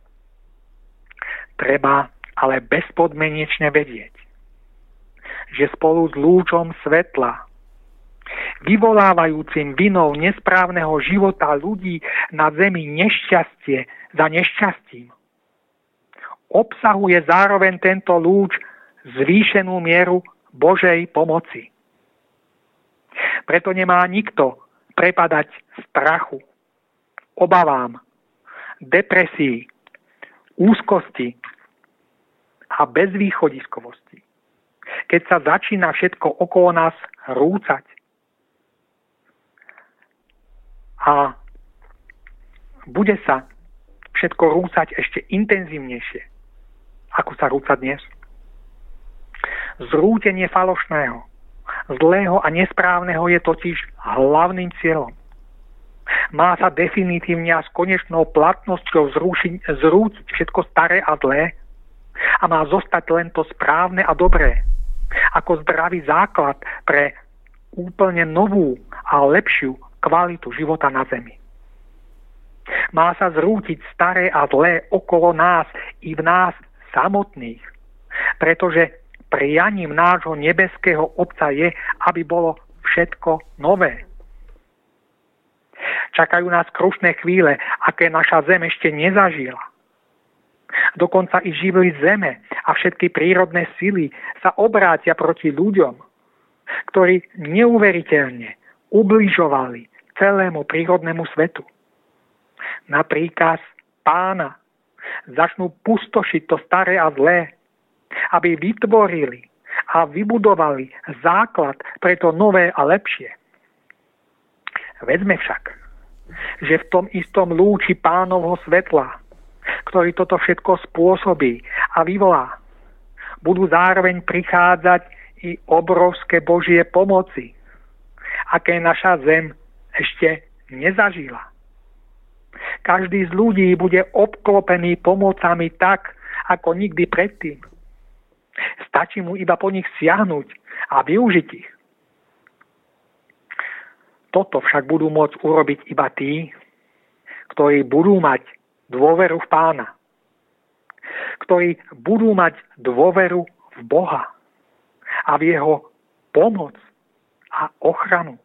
Treba ale bezpodmienečne vedieť, že spolu s lúčom svetla, vyvolávajúcim vinou nesprávneho života ľudí na zemi nešťastie za nešťastím, obsahuje zároveň tento lúč zvýšenú mieru Božej pomoci. Preto nemá nikto prepadať strachu, obavám, depresii, úzkosti a bezvýchodiskovosti, keď sa začína všetko okolo nás rúcať. A bude sa všetko rúcať ešte intenzívnejšie, ako sa rúca dnes. Zrútenie falošného, zlého a nesprávneho je totiž hlavným cieľom. Má sa definitívne a s konečnou platnosťou zrútiť všetko staré a zlé a má zostať len to správne a dobré, ako zdravý základ pre úplne novú a lepšiu kvalitu života na zemi. Má sa zrútiť staré a zlé okolo nás i v nás samotných, pretože prianím nášho nebeského Otca je, aby bolo všetko nové. Čakajú nás krušné chvíle, aké naša zem ešte nezažila. Dokonca i živly zeme a všetky prírodné sily sa obrátia proti ľuďom, ktorí neuveriteľne ubližovali celému prírodnému svetu. Na príkaz Pána začnú pustošiť to staré a zlé, aby vytvorili a vybudovali základ pre to nové a lepšie. Veďme však, že v tom istom lúči Pánovho svetla, ktorý toto všetko spôsobí a vyvolá, budú zároveň prichádzať i obrovské Božie pomoci, aké naša zem ešte nezažila. Každý z ľudí bude obklopený pomocami tak, ako nikdy predtým. Stačí mu iba po nich siahnuť a využiť ich. Toto však budú môcť urobiť iba tí, ktorí budú mať dôveru v Pána, ktorí budú mať dôveru v Boha a v jeho pomoc a ochranu.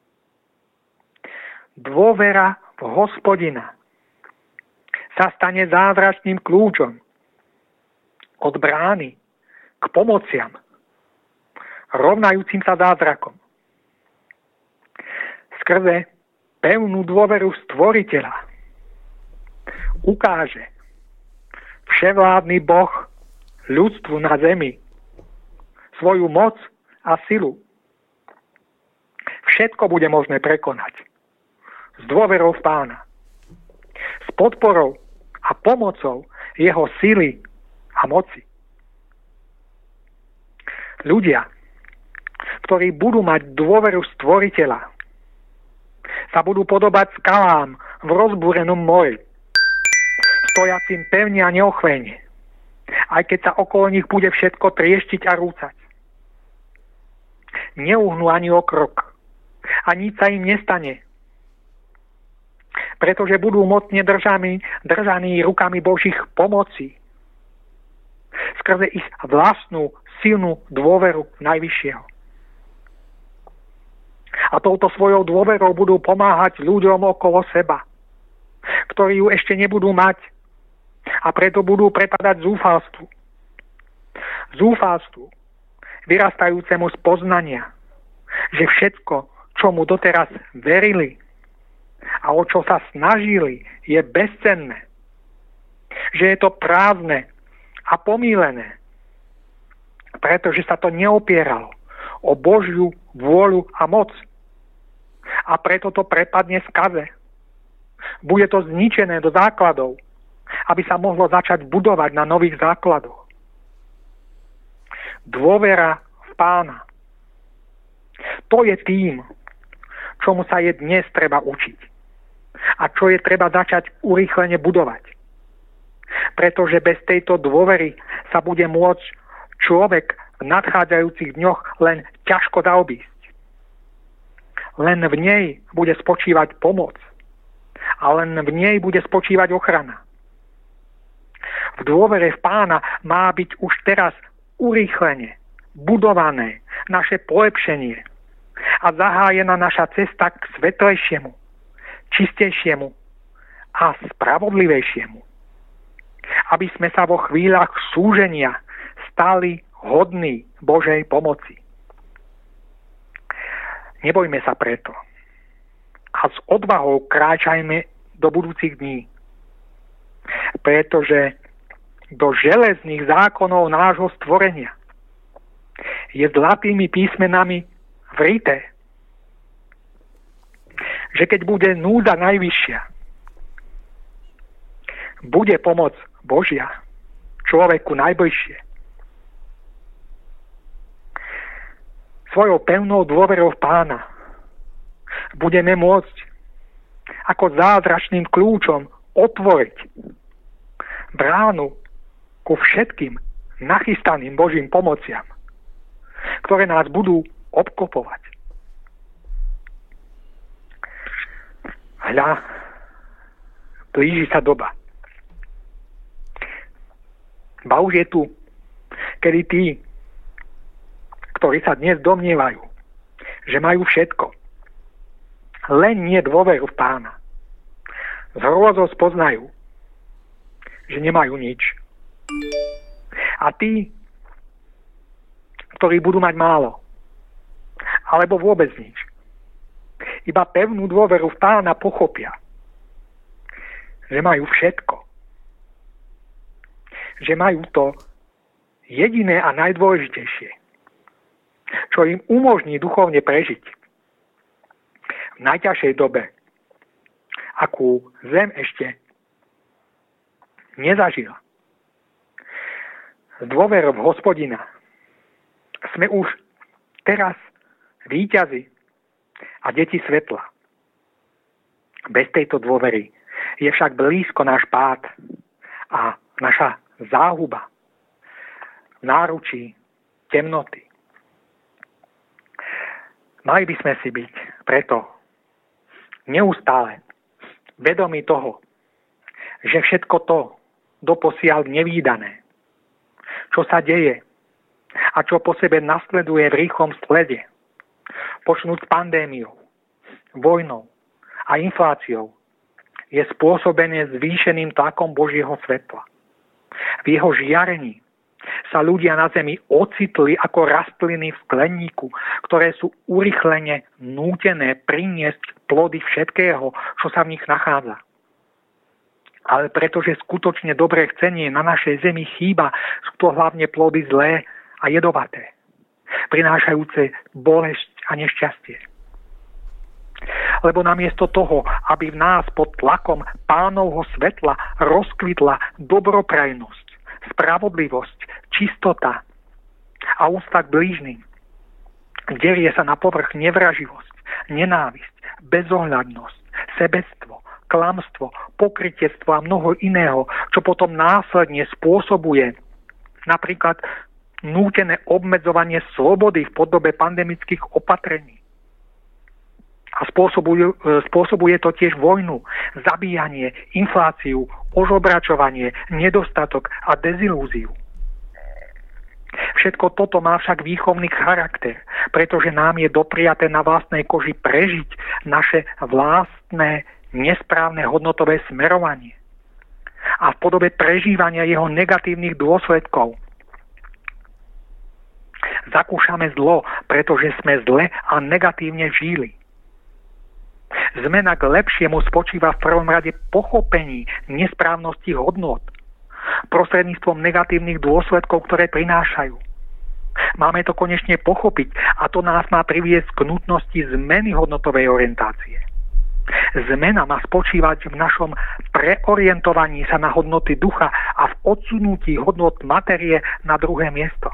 Dôvera v Hospodina sa stane zázračným kľúčom od brány k pomociam, rovnajúcim sa zázrakom. Skrze pevnú dôveru Stvoriteľa ukáže vševládny Boh ľudstvu na zemi svoju moc a silu. Všetko bude možné prekonať s dôverou v Pána, s podporou a pomocou jeho sily a moci. Ľudia, ktorí budú mať dôveru Stvoriteľa, sa budú podobať skalám v rozbúrenom mori, stojacím pevne a neochvejne, aj keď sa okolo nich bude všetko trieštiť a rúcať. Neuhnú ani o krok a nič sa im nestane, pretože budú mocne držaní rukami Božích pomocí skrze ich vlastnú silnú dôveru Najvyššieho. A touto svojou dôverou budú pomáhať ľuďom okolo seba, ktorí ju ešte nebudú mať a preto budú prepadať zúfalstvu. Zúfalstvu, vyrastajúcemu z poznania, že všetko, čo mu doteraz verili a o čo sa snažili, je bezcenné. Že je to prázdne a pomýlené, pretože sa to neopieralo o Božiu vôľu a moc. A preto to prepadne skaze. Bude to zničené do základov, aby sa mohlo začať budovať na nových základoch. Dôvera v Pána. To je tým, čomu sa je dnes treba učiť. A čo je treba začať urýchlene budovať. Pretože bez tejto dôvery sa bude môcť človek v nadchádzajúcich dňoch len ťažko zaobísť. Len v nej bude spočívať pomoc a len v nej bude spočívať ochrana. V dôvere v Pána má byť už teraz urýchlene budované naše polepšenie a zahájená naša cesta k svetlejšiemu, čistejšiemu a spravodlivejšiemu. Aby sme sa vo chvíľach súženia stali hodní Božej pomoci. Nebojme sa preto a s odvahou kráčajme do budúcich dní, pretože do železných zákonov nášho stvorenia je zlatými písmenami vrité, že keď bude núdza najvyššia, bude pomoc Božia človeku najbližšie. Svojou pevnou dôverou v Pána budeme môcť ako zázračným kľúčom otvoriť bránu ku všetkým nachystaným Božím pomociam, ktoré nás budú obklopovať. Hľa, blíži sa doba. Ba už je tu, kedy tí, ktorí sa dnes domnievajú, že majú všetko, len nie dôveru v Pána, s hrôzou spoznajú, že nemajú nič. A tí, ktorí budú mať málo, alebo vôbec nič, iba pevnú dôveru v Pána pochopia, že majú všetko. Že majú to jediné a najdôležitejšie, čo im umožní duchovne prežiť v najťažšej dobe, akú zem ešte nezažila. S dôverou v Hospodina sme už teraz víťazi a deti svetla. Bez tejto dôvery je však blízko náš pád a naša záhuba v náručí temnoty. Mali by sme si byť preto neustále vedomí toho, že všetko to doposiaľ nevídané, čo sa deje a čo po sebe nasleduje v rýchlom slede, počnúť s pandémiou, vojnou a infláciou, je spôsobené zvýšeným tlakom Božieho svetla. V jeho žiarení sa ľudia na zemi ocitli ako rastliny v skleníku, ktoré sú urýchlene nútené priniesť plody všetkého, čo sa v nich nachádza. Ale pretože skutočne dobré chcenie na našej zemi chýba, sú to hlavne plody zlé a jedovaté, prinášajúce bolesť a nešťastie. Lebo namiesto toho, aby v nás pod tlakom Pánovho svetla rozkvitla dobroprajnosť, spravodlivosť, čistota a úcta k blížnym, derie sa na povrch nevraživosť, nenávisť, bezohľadnosť, sebectvo, klamstvo, pokrytectvo a mnoho iného, čo potom následne spôsobuje napríklad nútené obmedzovanie slobody v podobe pandemických opatrení. A spôsobuje to tiež vojnu, zabíjanie, infláciu, ožobračovanie, nedostatok a dezilúziu. Všetko toto má však výchovný charakter, pretože nám je dopriaté na vlastnej koži prežiť naše vlastné nesprávne hodnotové smerovanie a v podobe prežívania jeho negatívnych dôsledkov zakúšame zlo, pretože sme zle a negatívne žili. Zmena k lepšiemu spočíva v prvom rade pochopení nesprávnosti hodnot prostredníctvom negatívnych dôsledkov, ktoré prinášajú. Máme to konečne pochopiť a to nás má priviesť k nutnosti zmeny hodnotovej orientácie. Zmena má spočívať v našom preorientovaní sa na hodnoty ducha a v odsunutí hodnot materie na druhé miesto.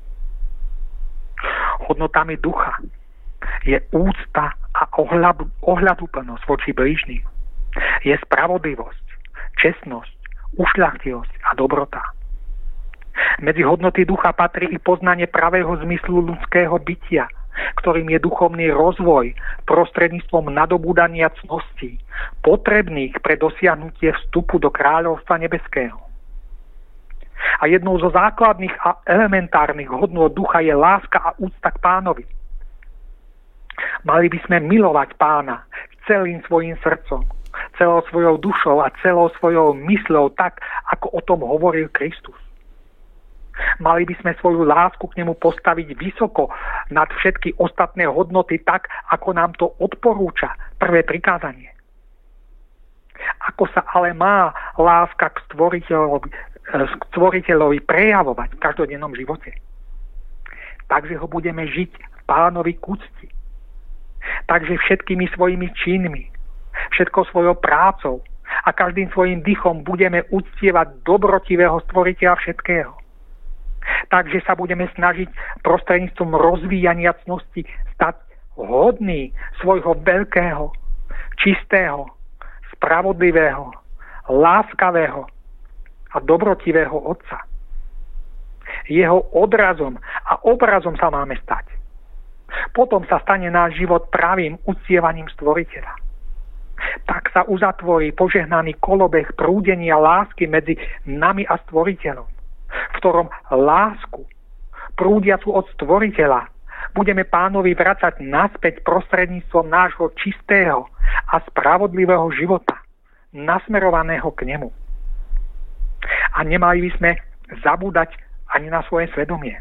Hodnotami ducha je úcta a ohľaduplnosť voči blížnym. Je spravodlivosť, čestnosť, ušľachtilosť a dobrota. Medzi hodnoty ducha patrí i poznanie pravého zmyslu ľudského bytia, ktorým je duchovný rozvoj prostredníctvom nadobúdania cností, potrebných pre dosiahnutie vstupu do kráľovstva nebeského. A jednou zo základných a elementárnych hodnôt ducha je láska a úcta k Pánovi. Mali by sme milovať Pána celým svojim srdcom, celou svojou dušou a celou svojou mysľou tak, ako o tom hovoril Kristus. Mali by sme svoju lásku k nemu postaviť vysoko nad všetky ostatné hodnoty tak, ako nám to odporúča prvé prikázanie. Ako sa ale má láska k stvoriteľovi prejavovať v každodennom živote? Takže ho budeme žiť Pánovi k úcti. Takže všetkými svojimi činmi, všetkou svojou prácou a každým svojim dychom budeme uctievať dobrotivého stvoriteľa všetkého. Takže sa budeme snažiť prostredníctvom rozvíjania cnosti stať hodný svojho veľkého, čistého, spravodlivého, láskavého a dobrotivého Otca. Jeho odrazom a obrazom sa máme stať. Potom sa stane náš život pravým uctievaním stvoriteľa. Tak sa uzatvorí požehnaný kolobeh prúdenia lásky medzi nami a stvoriteľom, v ktorom lásku, prúdiacu od stvoriteľa, budeme Pánovi vracať naspäť prostredníctvom nášho čistého a spravodlivého života, nasmerovaného k nemu. A nemali by sme zabúdať ani na svoje svedomie.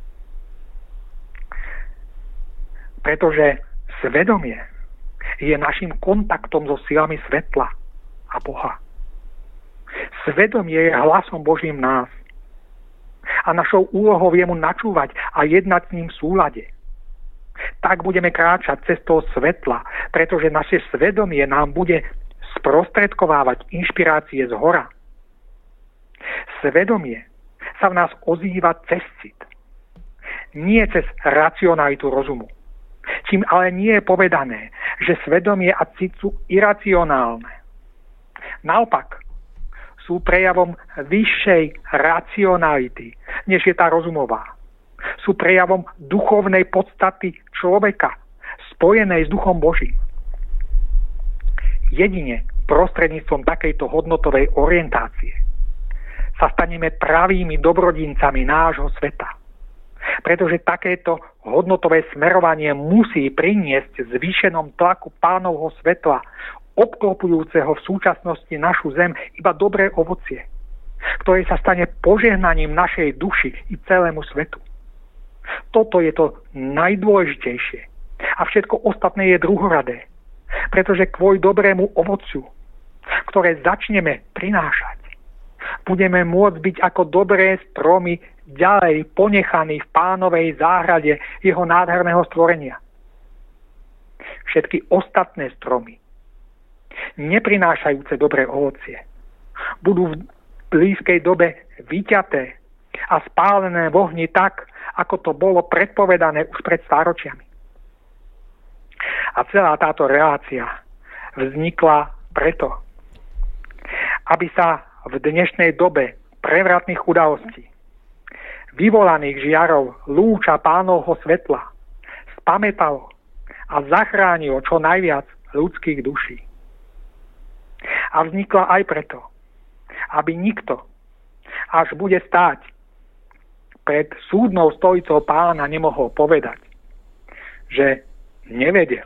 Pretože svedomie je našim kontaktom so silami svetla a Boha. Svedomie je hlasom Božím nás. A našou úlohou je mu načúvať a jednať s ním v súlade. Tak budeme kráčať cestou svetla, pretože naše svedomie nám bude sprostredkovávať inšpirácie z hora. Svedomie sa v nás ozýva cez cit, nie cez racionalitu rozumu. Čím ale nie je povedané, že svedomie a cit sú iracionálne. Naopak, sú prejavom vyššej racionality, než je tá rozumová. Sú prejavom duchovnej podstaty človeka, spojenej s Duchom Božím. Jedine prostredníctvom takejto hodnotovej orientácie sa staneme pravými dobrodincami nášho sveta. Pretože takéto hodnotové smerovanie musí priniesť zvýšenom tlaku Pánovho svetla, obklopujúceho v súčasnosti našu zem, iba dobré ovocie, ktoré sa stane požehnaním našej duši i celému svetu. Toto je to najdôležitejšie. A všetko ostatné je druhoradé. Pretože kvôli dobrému ovociu, ktoré začneme prinášať, budeme môcť byť ako dobré stromy ďalej ponechaní v Pánovej záhrade jeho nádherného stvorenia. Všetky ostatné stromy, neprinášajúce dobré ovocie, budú v blízkej dobe vyťaté a spálené v ohni tak, ako to bolo predpovedané už pred stáročiami. A celá táto relácia vznikla preto, aby sa v dnešnej dobe prevratných udalostí, vyvolaných žiarov lúča Pánovho svetla, spamätalo a zachránilo čo najviac ľudských duší. A vznikla aj preto, aby nikto, až bude stáť pred súdnou stojicou Pána nemohol povedať, že nevedel.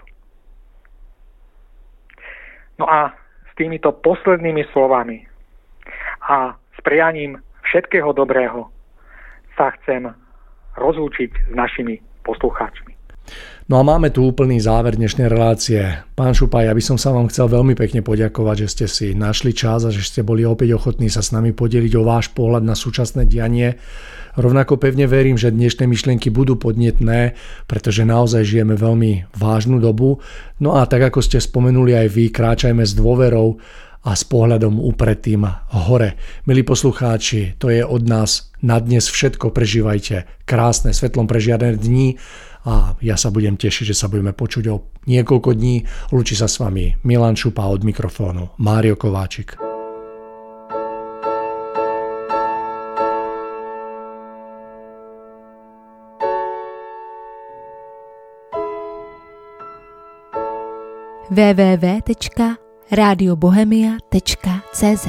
No a s týmito poslednými slovami a s prianím všetkého dobrého sa chcem rozlúčiť s našimi poslucháčmi. No a máme tu úplný záver dnešnej relácie. Pán Šupaj, ja by som sa vám chcel veľmi pekne poďakovať, že ste si našli čas a že ste boli opäť ochotní sa s nami podeliť o váš pohľad na súčasné dianie. Rovnako pevne verím, že dnešné myšlienky budú podnetné, pretože naozaj žijeme veľmi vážnu dobu. No a tak ako ste spomenuli aj vy, kráčajme s dôverou a s pohľadom upretým hore. Milí poslucháči, to je od nás na dnes všetko. Prežívajte krásne, svetlom prežiarené dni a ja sa budem tešiť, že sa budeme počuť o niekoľko dní. Lúči sa s vami Milan Šupa, od mikrofónu Mário Kováčik. www.radiobohemia.cz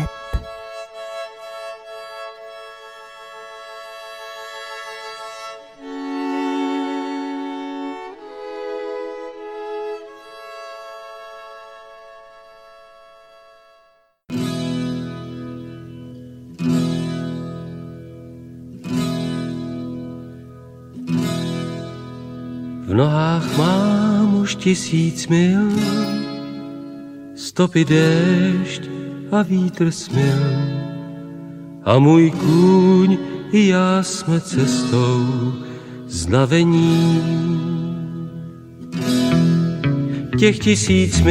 V nohách mám už 1000 mil, stopy déšť a vítr smil. A můj kůň i já jsme cestou znavení. Těch 1000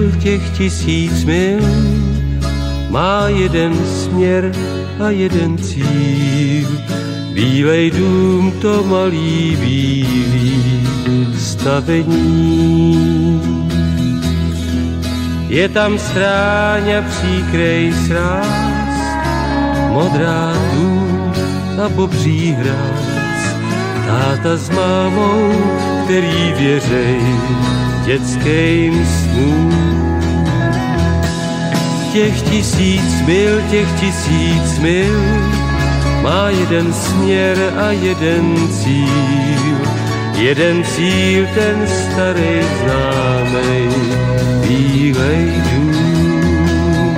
mil má jeden směr a jeden cíl. Bílej dům, to malý bílý stavení. Je tam stráň a příkrej sráz, modrá dům a bobří hráz. Táta s mámou, který věřej dětským snům. Těch 1000 mil má jeden směr a jeden cíl. Jeden cíl, ten starý známej, bílej dům.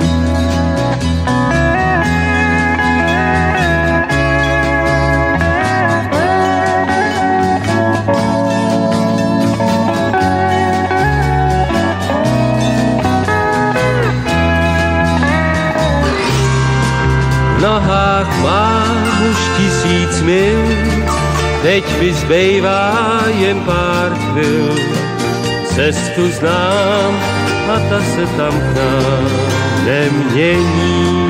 V nohách mám už 1000 mil, teď mi zbývá jen pár chvil. Cestu znám a ta se tam k nám nemění.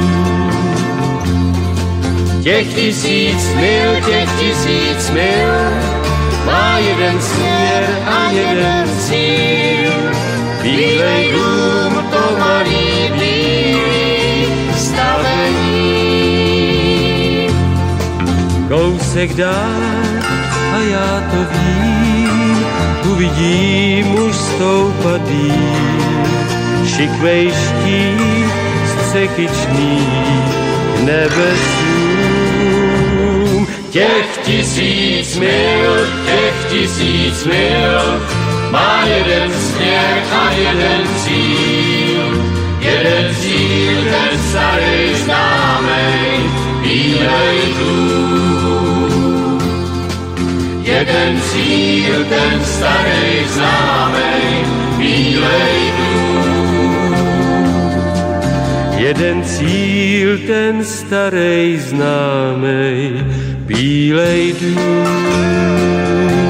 Těch 1000 mil má jeden směr a jeden cíl. Bílej dům, to malý bílý stavení. Kousek dál a já to vím, uvidím už stoupat dým. Šikvej štít střekyčný k nebesům. Těch 1000 mil má jeden směr a jeden cíl. Jeden cíl, ten starý známej, bílej dům. Jeden cíl, ten starý známej, bílej dům. Jeden cíl, ten starý známej, bílej dům.